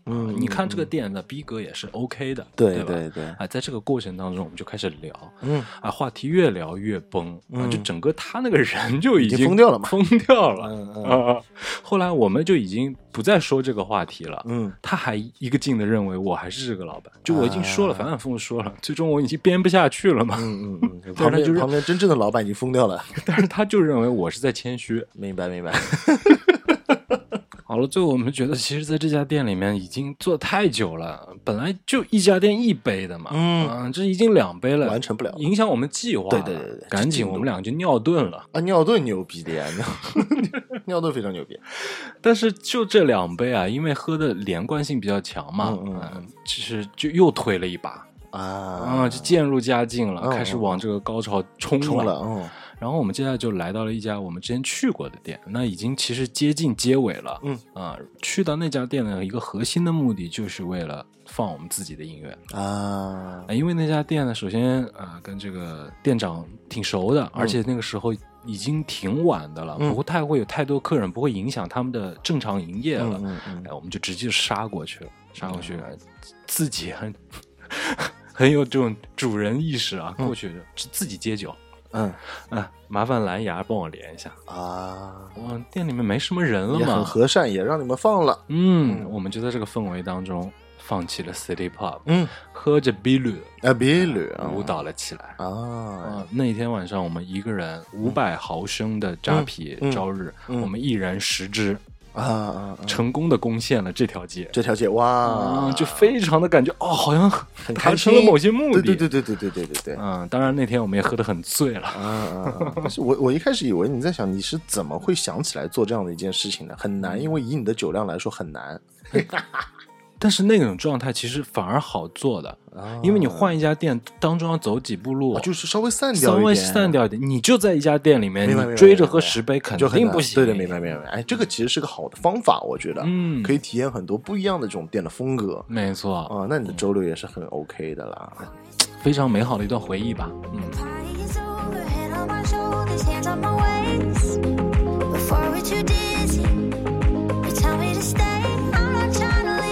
嗯、啊，你看这个店的逼格也是 OK 的， 对对吧对对啊，在这个过程当中我们就开始聊， 嗯啊，话题越聊越崩， 嗯啊，就整个他那个人就已经已经疯掉了嘛疯掉了， 嗯嗯啊，后来我们就已经不再说这个话题了， 嗯， 他还一个劲的认为我还是这个老板，就我已经说了，反反复复说了，最终我已经编不下去了嘛， 嗯嗯嗯， 但是他就是旁边旁边真正的老板已经疯掉了， 但是他就认为我是在谦虚， 明白明白。 好了，最后我们觉得，其实在这家店里面已经做太久了，本来就一家店一杯的嘛， 嗯啊，这已经两杯了， 完成不了影响我们计划了， 对对对对赶紧我们两个就尿遁了。 啊，尿遁牛逼的呀，尿尿遁非常牛逼。 但是就这两杯啊，因为喝的连贯性比较强嘛， 嗯嗯嗯，其实就又推了一把啊啊，就渐入佳境了， 嗯开始往这个高潮冲了。 冲了，嗯然后我们接下来就来到了一家我们之前去过的店，那已经其实接近结尾了。 嗯啊，去到那家店的一个核心的目的就是为了放我们自己的音乐啊， 因为那家店呢，首先啊、呃、跟这个店长挺熟的，而且那个时候已经挺晚的了， 嗯不会太会有太多客人，不会影响他们的正常营业了。 嗯嗯嗯哎，我们就直接杀过去了，杀过去了，自己很很有这种主人意识啊，过去是自己接酒。 嗯啊，麻烦蓝牙帮我连一下啊， 哇，店里面没什么人了也很嘛， 和善，也让你们放了。 嗯，我们就在这个氛围当中放弃了 City Pub， 嗯， 喝着 Bilu 啊，别捋啊， 舞蹈了起来。 啊， 啊，那一天晚上我们一个人五百毫升的扎啤嗯嗯朝日， 嗯我们一人十支， 啊啊，啊成功的攻陷了这条街。 这条街哇， 啊，就非常的感觉哦，好像很开达成了心某些目的。 对对对对对对对对对。 嗯，当然那天我们也喝得很醉了。 啊啊啊！但是我我一开始以为你在想你是怎么会想起来做这样的一件事情的，很难，因为以你的酒量来说很难。 但是那种状态其实反而好做的， 啊因为你换一家店当中要走几步路， 啊就是稍微散掉一点， 稍微散掉一点，你就在一家店里面， 明白明白你追着喝十杯肯就很难定不行。 对对，明白明白。哎，这个其实是个好的方法，我觉得， 嗯可以体验很多不一样的这种店的风格。 没错啊，那你的周六也是很 OK 的啦。 非常美好的一段回忆吧。嗯。 Party is over, head on my shoulders, hands on my waist. Before we're too dizzy, you tell me to stay. I'm not trying to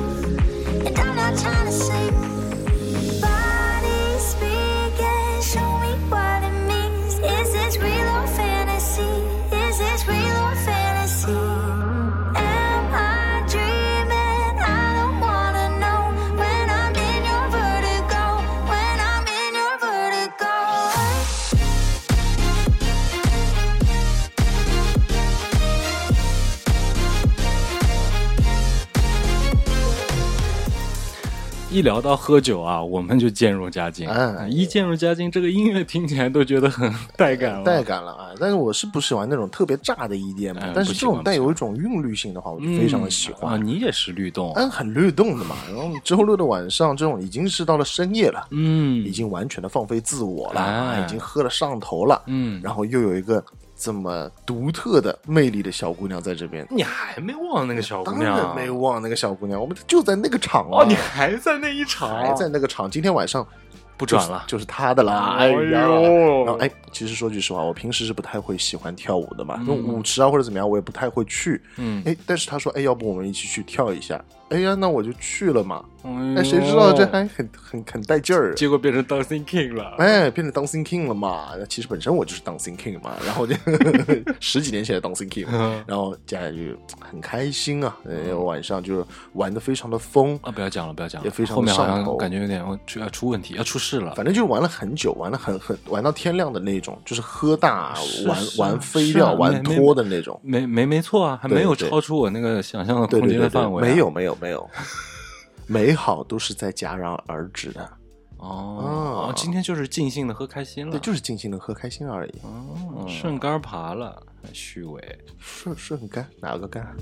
leave, and I'm not trying to sleep. Body speaking, show me what it means. Is this real or fantasy? Is this real or fantasy? Am I dreaming? I don't wanna know. When I'm in your vertigo, when I'm in your vertigo. 一聊到喝酒啊，我们就渐入佳境。 哎一渐入佳境，这个音乐听起来都觉得很带感了。 带感了啊！但是我是不喜欢那种特别炸的 E D M，、 哎但是这不喜欢种带有一种韵律性的话，我就非常的喜欢。 啊！你也是律动， 嗯，很律动的嘛。然后周六的晚上，这种已经是到了深夜了， 嗯， 已经完全的放飞自我了， 哎已经喝了上头了， 嗯然后又有一个这么独特的魅力的小姑娘在这边。 你还没忘那个小姑当娘？ 然没忘那个小姑娘，我们就在那个场啊， 哦，你还在那一场， 还在那个场。今天晚上不转了， 就是她的啦。 哎呦然后哎，其实说句实话，我平时是不太会喜欢跳舞的嘛，那种舞池啊或者怎么样，我也不太会去。 嗯， 哎，但是他说，哎，要不我们一起去跳一下？哎呀，那我就去了嘛。 哎哎，谁知道这还很很很带劲儿。 结果变成 Dancing King 了。 哎，变成 Dancing King 了嘛？其实本身我就是 Dancing King 嘛，然后就十几年前的 Dancing King，然后接下来就很开心啊，呃，晚上就玩的非常的疯啊！不要讲了，不要讲了， 也非常后面好上头像感觉有点出要出问题，要出事了。 反正就是玩了很久，玩了很很玩到天亮的那种，就是喝大玩是是玩飞是啊掉、玩没脱的那种。 没没没错啊，还没有对对超出我那个想象的空对对对对间的范围啊。 没有没有没有，美好都是在戛然而止的。 哦， 啊今天就是尽兴的喝开心了， 对，就是尽情的喝开心而已。 哦，顺杆爬了，虚伪。 顺顺杆哪个杆？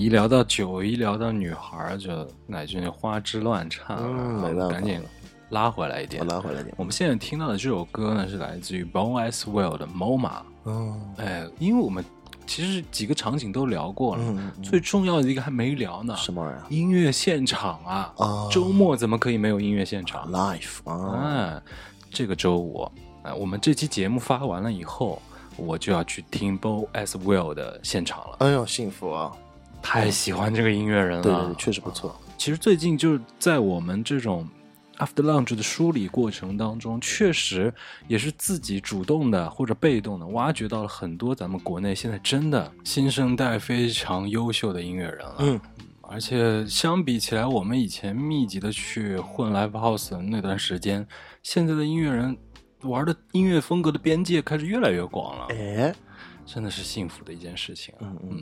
一聊到酒，一聊到女孩，就乃俊就花枝乱颤， 嗯，没办法， 赶紧拉回来一点， 拉回来一点。 我们现在听到的这首歌呢，是来自于 Bon Aswell 的 M O M A。哦，哎，因为我们其实几个场景都聊过了，嗯嗯、最重要的一个还没聊呢。 什么玩意儿？ 音乐现场啊！啊，周末怎么可以没有音乐现场 ？Live 啊！ 哎，这个周五，哎，我们这期节目发完了以后，我就要去听 Bon Aswell 的现场了。 哎呦，幸福啊！ 太喜欢这个音乐人了， 对对对，确实不错。 其实最近就是在我们这种 After Lunch 的梳理过程当中，确实也是自己主动的或者被动的挖掘到了很多咱们国内现在真的新生代非常优秀的音乐人了。嗯，而且相比起来，我们以前密集的去混 Live House 的那段时间，现在的音乐人玩的音乐风格的边界开始越来越广了。 哎， 真的是幸福的一件事情。 嗯嗯。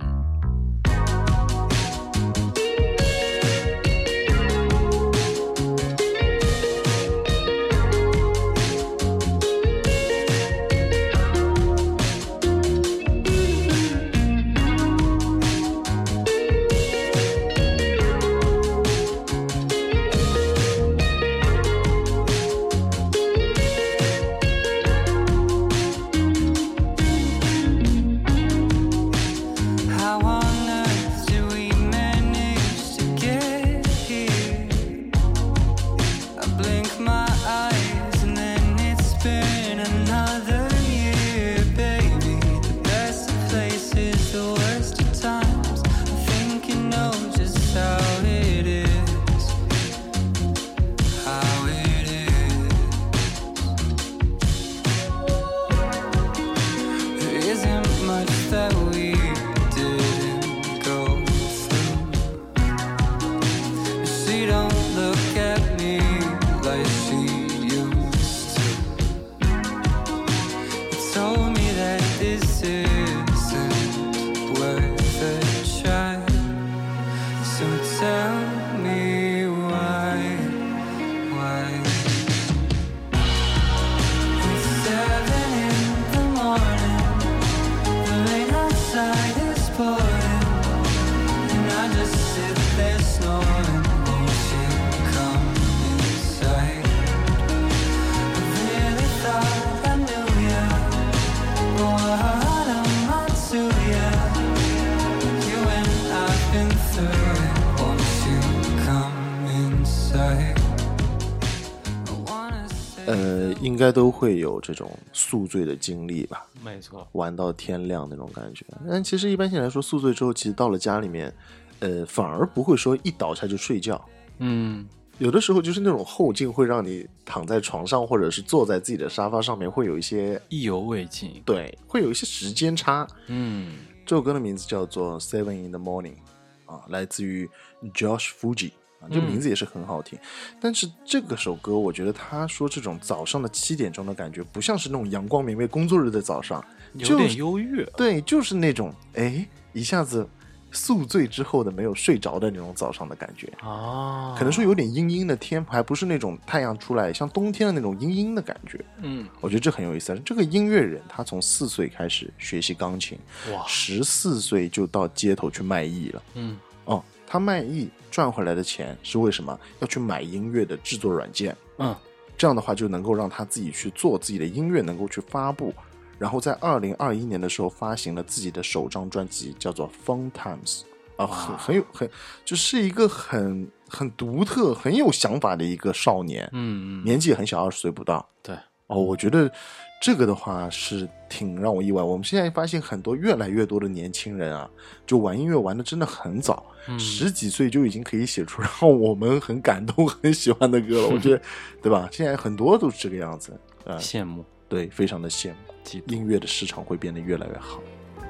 呃，应该都会有这种宿醉的经历吧？ 没错， 玩到天亮那种感觉。但其实一般性来说，宿醉之后，其实到了家里面，呃，反而不会说一倒下就睡觉。嗯，有的时候就是那种后劲会让你躺在床上，或者是坐在自己的沙发上面，会有一些意犹未尽。 对，会有一些时间差。嗯，这首歌的名字叫做 Seven in the Morning， 啊，来自于 Josh Fuji。这名字也是很好听、嗯、但是这个首歌我觉得他说这种早上的七点钟的感觉不像是那种阳光明媚工作日的早上， 有点忧郁。 对，就是那种哎一下子宿醉之后的没有睡着的那种早上的感觉啊，可能说有点阴阴的天，还不是那种太阳出来像冬天的那种阴阴的感觉。嗯，我觉得这很有意思。这个音乐人他从四岁开始学习钢琴，哇，十四岁就到街头去卖艺了。嗯，哦，他卖艺赚回来的钱是为什么？要去买音乐的制作软件。嗯，这样的话就能够让他自己去做自己的音乐，能够去发布。然后在二零二一年的时候发行了自己的首张专辑，叫做 Fun Times。啊，很很有很就是一个很很独特、很有想法的一个少年。嗯嗯，年纪也很小，二十岁不到。 对。 哦，我觉得这个的话是挺让我意外。我们现在发现很多越来越多的年轻人啊，就玩音乐玩的真的很早，嗯、十几岁就已经可以写出让我们很感动、很喜欢的歌了。我觉得，对吧？现在很多都是这个样子，呃， 羡慕， 对，非常的羡慕。音乐的市场会变得越来越好。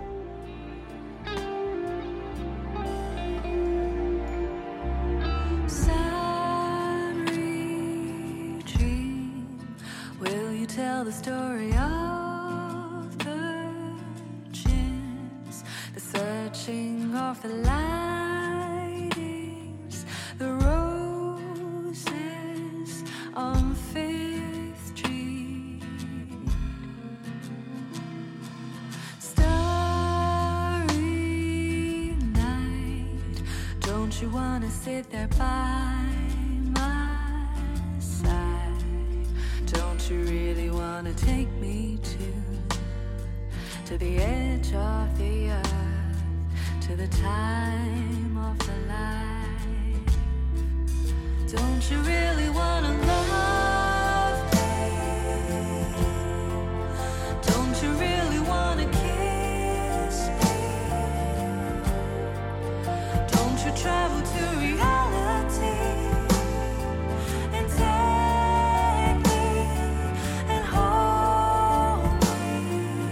Tell the story of the chins, the searching of the lightings, the roses on Fifth Street. Starry night, Don't you wanna sit there by my side? Don't you really wanna take me to to the edge of the earth, to the time of the light? Don't you really wanna love me? Don't you really wanna kiss me? Don't you travel to reality and take me and hold me?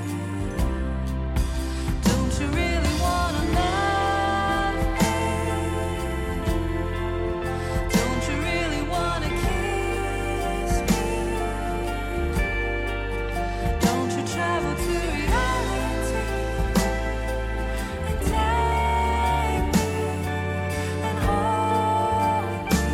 Don't you really wanna love me? Don't you really wanna kiss me? Don't you travel to reality and take me and hold me?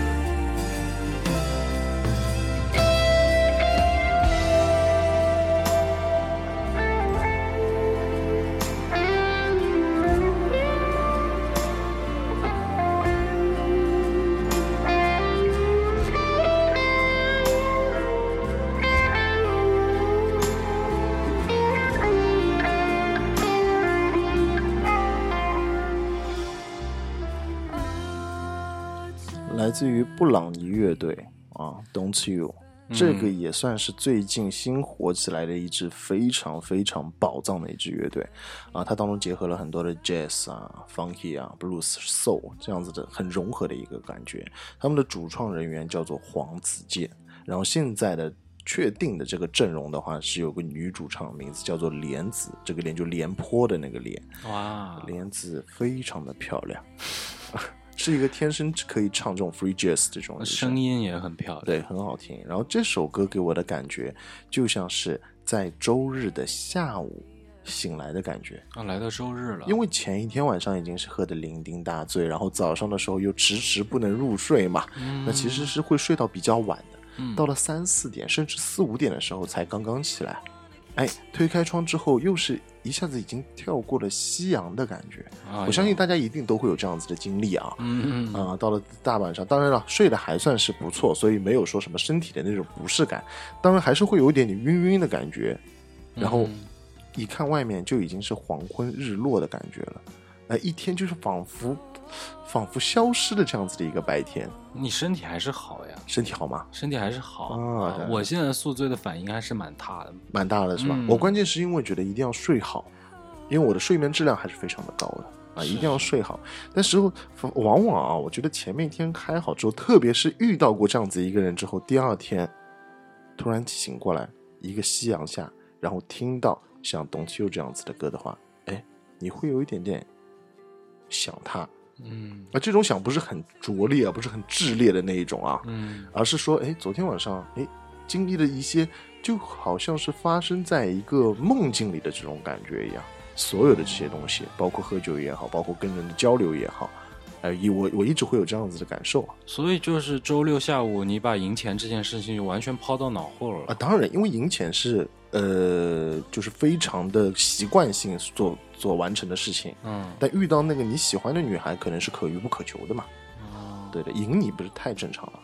来自于布朗尼乐队啊 Don't You， 这个也算是最近新火起来的一支非常非常宝藏的一支乐队啊，它当中结合了很多的 jazz 啊 funky 啊 blues soul 这样子的很融合的一个感觉。他们的主创人员叫做黄子健，然后现在的确定的这个阵容的话是有个女主唱，名字叫做莲子，这个莲就廉颇的那个莲。 哇， 莲子非常的漂亮是一个天生可以唱这种 free jazz 这种声音也很漂亮， 对，很好听。然后这首歌给我的感觉就像是在周日的下午醒来的感觉啊，来到周日了， 因为前一天晚上已经是喝得酩酊大醉，然后早上的时候又迟迟不能入睡嘛，嗯、那其实是会睡到比较晚的，嗯、到了三四点甚至四五点的时候才刚刚起来。哎，推开窗之后又是一下子已经跳过了夕阳的感觉、哎、我相信大家一定都会有这样子的经历啊。嗯嗯啊、呃，到了大晚上，当然了，睡得还算是不错，所以没有说什么身体的那种不适感，当然还是会有一点点晕晕的感觉。然后一看外面就已经是黄昏日落的感觉了，哎，一天就是仿佛仿佛消失的这样子的一个白天。 你身体还是好呀？ 身体好吗？ 身体还是好啊。 我现在宿醉的反应还是蛮大的， 蛮大的是吧、嗯？我关键是因为觉得一定要睡好，因为我的睡眠质量还是非常的高的啊，一定要睡好。但是往往啊，我觉得前面一天开好之后，特别是遇到过这样子一个人之后，第二天突然醒过来，一个夕阳下，然后听到像董其佑这样子的歌的话，哎，你会有一点点想他。嗯，而这种想不是很拙劣啊，不是很炽烈的那一种啊，嗯，而是说，哎，昨天晚上，哎，经历了一些，就好像是发生在一个梦境里的这种感觉一样。所有的这些东西，包括喝酒也好，包括跟人的交流也好，哎、呃，我我一直会有这样子的感受啊。 所以就是周六下午，你把赢钱这件事情就完全抛到脑后了啊。当然，因为赢钱是呃，就是非常的习惯性做做完成的事情，嗯，但遇到那个你喜欢的女孩，可能是可遇不可求的嘛，哦，对的，赢你不是太正常了。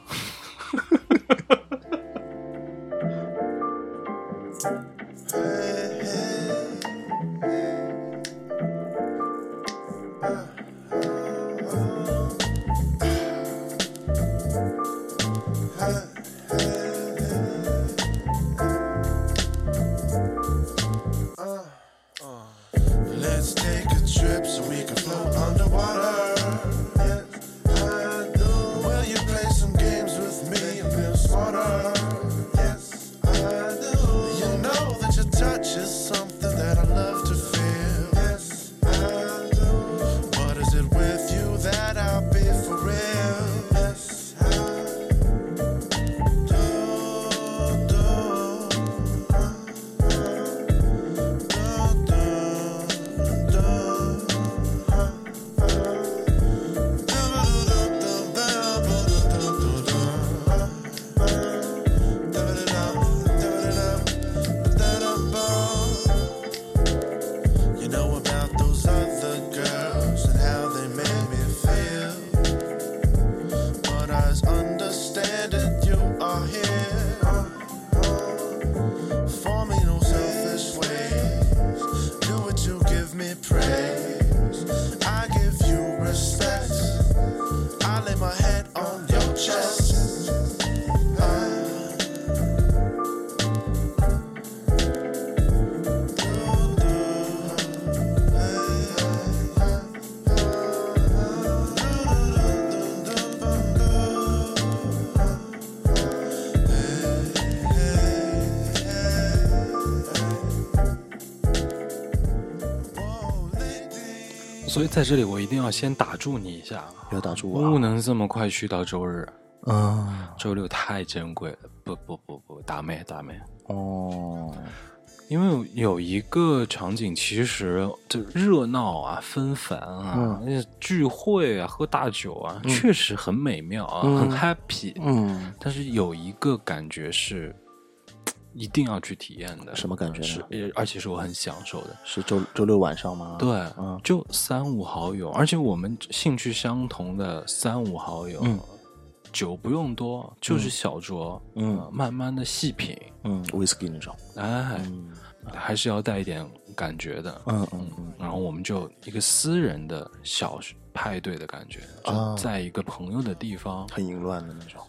所以在这里我一定要先打住你一下， 要打住我、啊， 不能这么快去到周日。 嗯， 周六太珍贵了，不不不不，打妹打妹哦。 因为有一个场景，其实就热闹啊、纷繁啊、嗯、聚会啊、喝大酒啊，嗯、确实很美妙啊，嗯、很 happy。 嗯， 但是有一个感觉是一定要去体验的。 什么感觉呢？ 是，而且是我很享受的。 是周周六晚上吗？ 对， 嗯， 就三五好友，而且我们兴趣相同的三五好友。嗯，酒不用多，就是小酌，嗯，呃、慢慢的细品， 嗯 ，whisky 那种， 哎、嗯，还是要带一点感觉的， 嗯嗯嗯。 然后我们就一个私人的小派对的感觉，就在一个朋友的地方， 很淫乱的那种。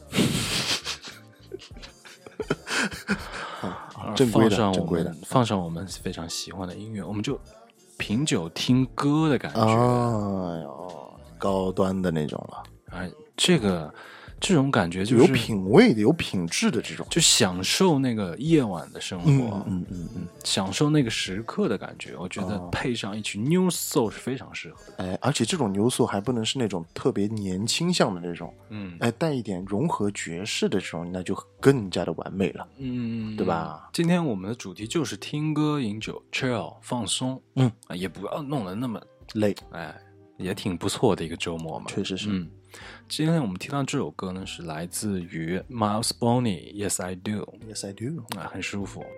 啊、正规的，正规的， 放上我们非常喜欢的音乐，我们就品酒听歌的感觉， 哎呦，高端的那种了， 哎，这个。这种感觉就是有品味的、有品质的这种， 就享受那个夜晚的生活， 嗯嗯嗯嗯， 享受那个时刻的感觉。我觉得配上一曲 New Soul 是非常适合的。 哎，而且这种 New Soul 还不能是那种特别年轻向的那种，嗯，哎，带一点融合爵士的这种，那就更加的完美了， 嗯， 对吧？ 今天我们的主题就是听歌、饮酒、chill 放松， 嗯， 也不要弄得那么累， 哎，也挺不错的一个周末嘛， 确实是。 嗯，今天我们听到这首歌呢，是来自于 Miles Bonney Yes I Do Yes I Do 啊，很舒服。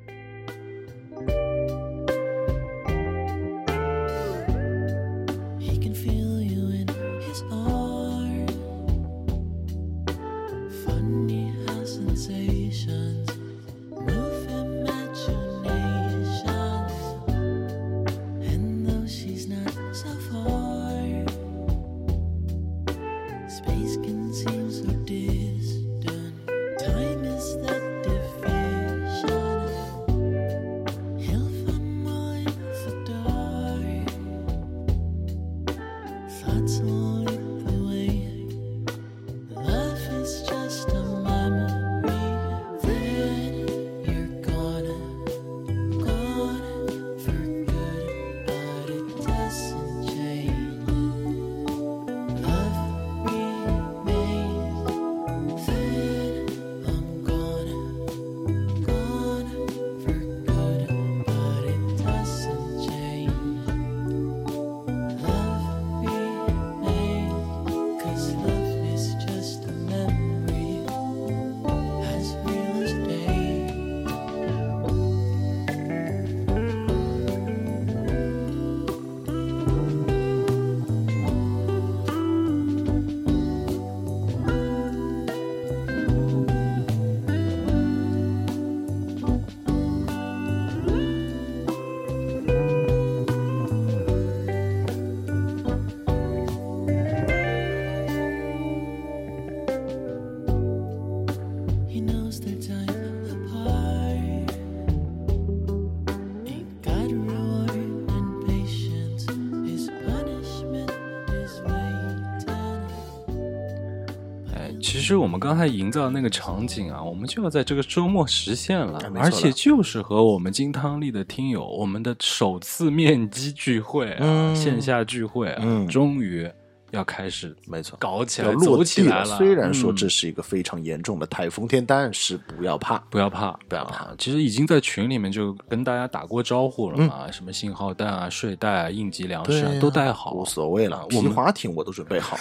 其实我们刚才营造的那个场景啊，我们就要在这个周末实现了， 了而且就是和我们金汤力的听友，我们的首次面基聚会啊，嗯、线下聚会啊，嗯、终于要开始， 没错， 搞起来， 要落地了。 虽然说这是一个非常严重的台风天，嗯、但是不要怕， 不要怕，不要怕。其实已经在群里面就跟大家打过招呼了嘛，嗯、什么信号弹啊、睡袋啊、应急粮食、啊啊、都带好， 无所谓了。皮划艇我都准备好。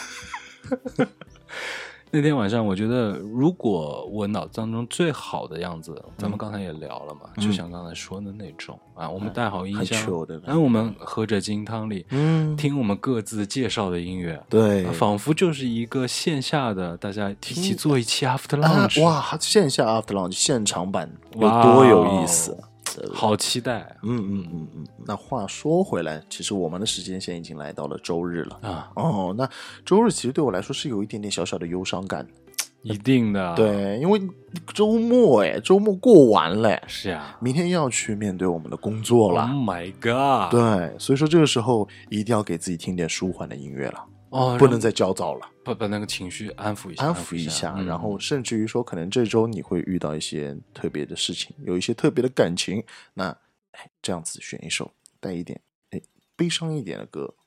那天晚上，我觉得如果我脑子当中最好的样子，嗯、咱们刚才也聊了嘛，嗯、就像刚才说的那种啊，我们带好音箱，然后我们喝着金汤力，嗯，听我们各自介绍的音乐， 对， 啊、仿佛就是一个线下的，大家一起做一期 After Lunch，、 啊、哇，线下 After Lunch 现场版有多有意思。 好期待、啊！ 嗯嗯嗯嗯。那话说回来，其实我们的时间线已经来到了周日了啊。哦，那周日其实对我来说是有一点点小小的忧伤感。 一定的， 对，因为周末哎，周末过完了， 是啊， 明天又要去面对我们的工作了。 Oh my god！ 对，所以说这个时候一定要给自己听点舒缓的音乐了。哦，不能再焦躁了， 把把那个情绪安抚一下， 安抚一下，嗯、然后甚至于说，可能这周你会遇到一些特别的事情，有一些特别的感情，那哎，这样子选一首带一点哎悲伤一点的歌，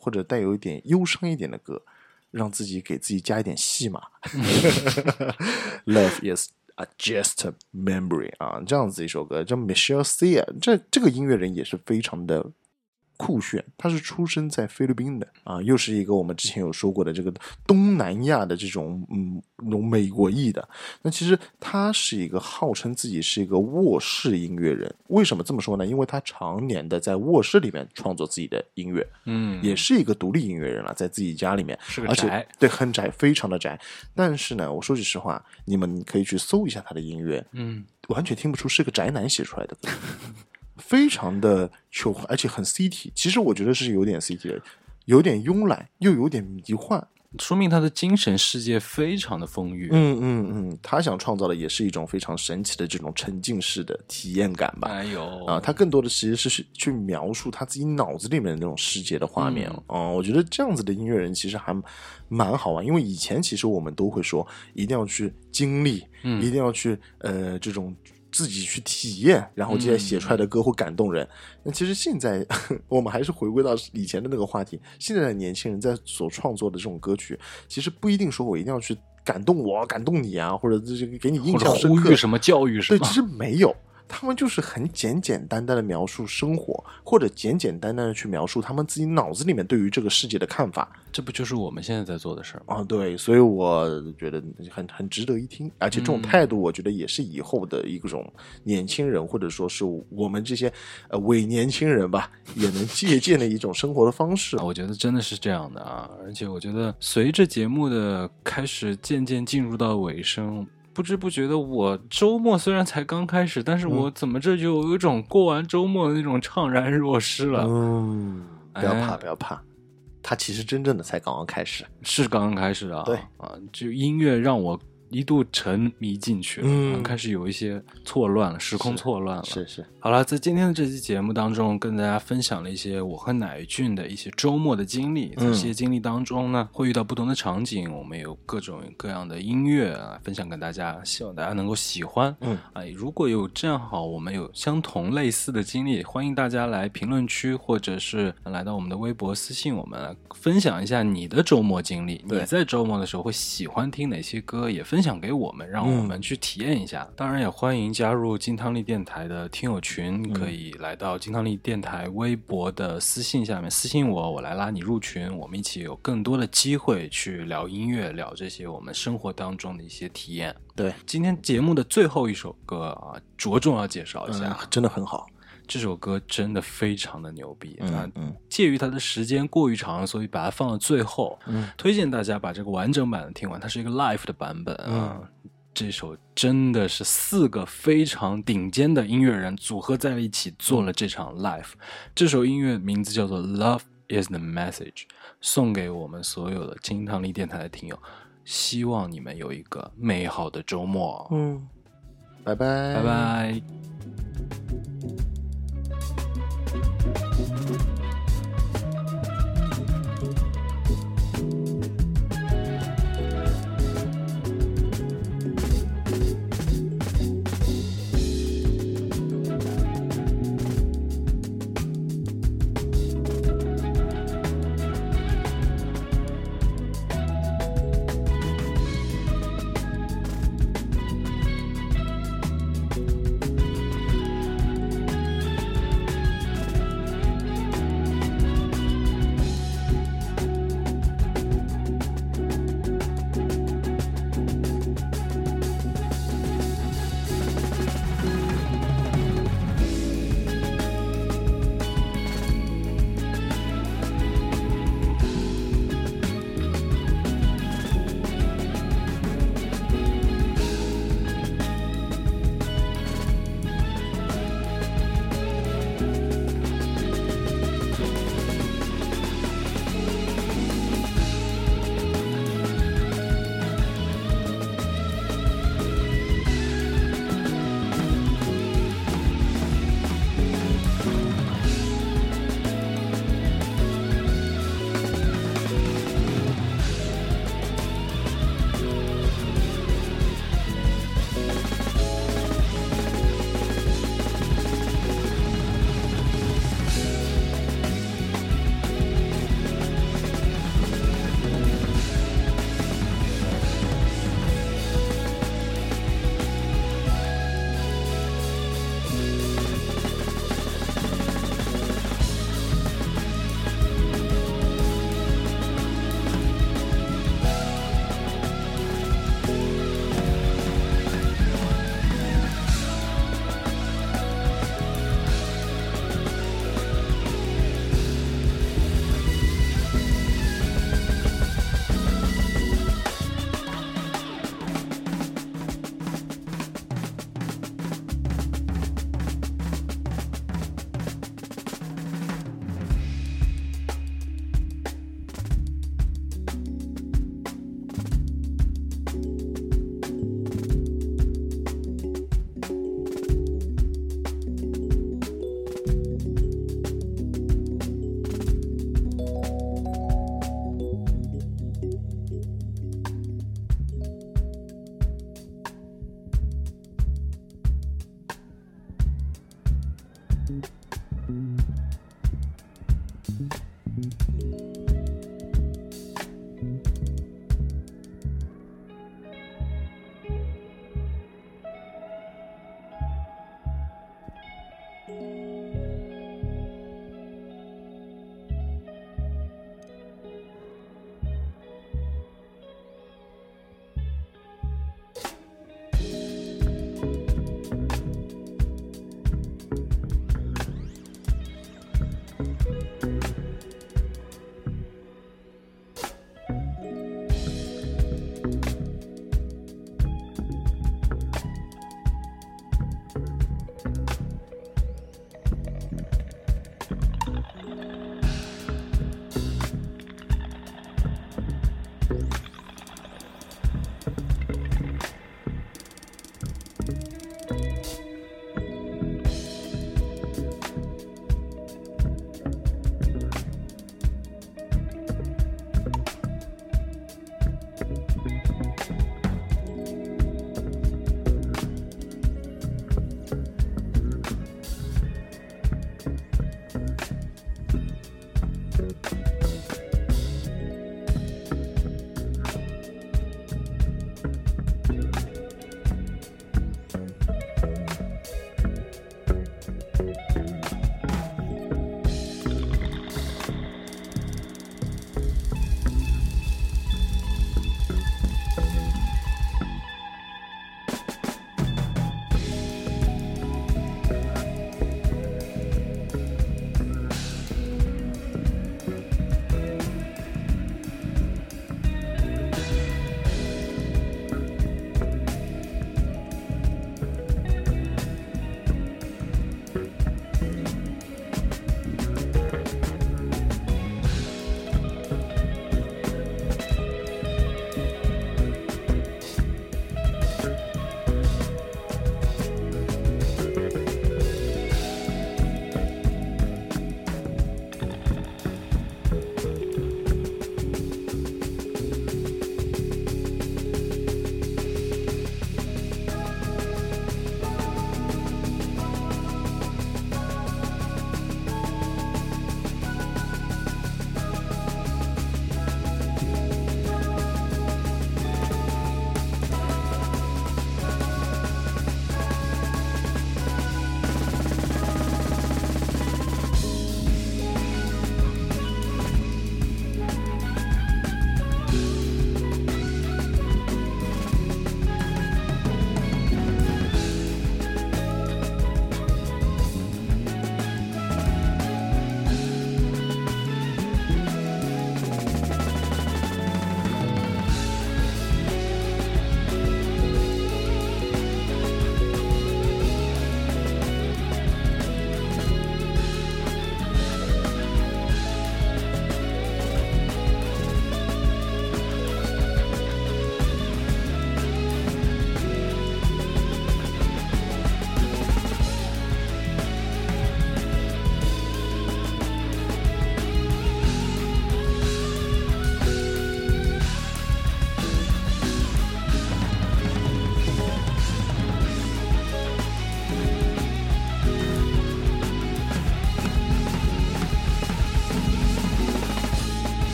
或者带有一点忧伤一点的歌，让自己给自己加一点戏码。Love is a just a memory 啊，这样子一首歌叫 Michelle Sia， 这这个音乐人也是非常的酷炫，他是出生在菲律宾的啊，又是一个我们之前有说过的这个东南亚的这种嗯那种美国裔的。那其实他是一个号称自己是一个卧室音乐人，为什么这么说呢？因为他常年的在卧室里面创作自己的音乐，嗯，也是一个独立音乐人了，在自己家里面， 是个宅， 而且对，很宅，非常的宅。但是呢，我说句实话，你们可以去搜一下他的音乐，嗯，完全听不出是个宅男写出来的歌。非常的求，而且很 city， 其实我觉得是有点 city 的，有点慵懒又有点迷幻， 说明他的精神世界非常的丰裕。 嗯嗯嗯，他想创造的也是一种非常神奇的这种沉浸式的体验感吧。 哎呦啊，他更多的其实是去描述他自己脑子里面的那种世界的画面。嗯，嗯我觉得这样子的音乐人其实还蛮好玩，因为以前其实我们都会说一定要去经历，嗯，一定要去呃这种。自己去体验，然后接下来写出来的歌会感动人。那、嗯、其实现在我们还是回归到以前的那个话题，现在的年轻人在所创作的这种歌曲，其实不一定说我一定要去感动我、感动你啊，或者这个给你印象深刻， 呼吁什么教育什么， 对，其实没有。他们就是很简简单单的描述生活，或者简简单单的去描述他们自己脑子里面对于这个世界的看法。 这不就是我们现在在做的事吗？ 啊，对，所以我觉得很很值得一听，而且这种态度，我觉得也是以后的一种年轻人，嗯、或者说是我们这些呃伪年轻人吧，也能借鉴的一种生活的方式。 我觉得真的是这样的啊，而且我觉得随着节目的开始渐渐进入到尾声。不知不觉的，我周末虽然才刚开始，但是我怎么这就有一种过完周末的那种怅然若失了。 嗯，不要怕，不要怕，它其实真正的才刚刚开始， 是刚刚开始啊。 对啊，就音乐让我一度沉迷进去了，嗯，开始有一些错乱了，时空错乱了。 是 是, 是。 好了，在今天的这期节目当中，跟大家分享了一些我和乃俊的一些周末的经历。在这些经历当中呢，会遇到不同的场景，我们有各种各样的音乐啊，分享给大家，希望大家能够喜欢。嗯，啊，如果有这样好，我们有相同类似的经历，欢迎大家来评论区或者是来到我们的微博私信我们，来分享一下你的周末经历。你在周末的时候会喜欢听哪些歌，也分享给我们，让我们去体验一下。嗯、当然，也欢迎加入金汤力电台的听友群。群可以来到金汤力电台微博的私信下面私信我，我来拉你入群，我们一起有更多的机会去聊音乐，聊这些我们生活当中的一些体验。 对， 今天节目的最后一首歌啊，着重要介绍一下， 嗯、真的很好。 这首歌真的非常的牛逼， 嗯嗯， 介于它的时间过于长，所以把它放到最后。嗯，推荐大家把这个完整版的听完，它是一个 live 的版本啊。嗯，这首真的是四个非常顶尖的音乐人组合在了一起做了这场 live。这首音乐名字叫做 Love is the Message， 送给我们所有的金汤力电台的听友，希望你们有一个美好的周末。 嗯，拜拜， 拜拜。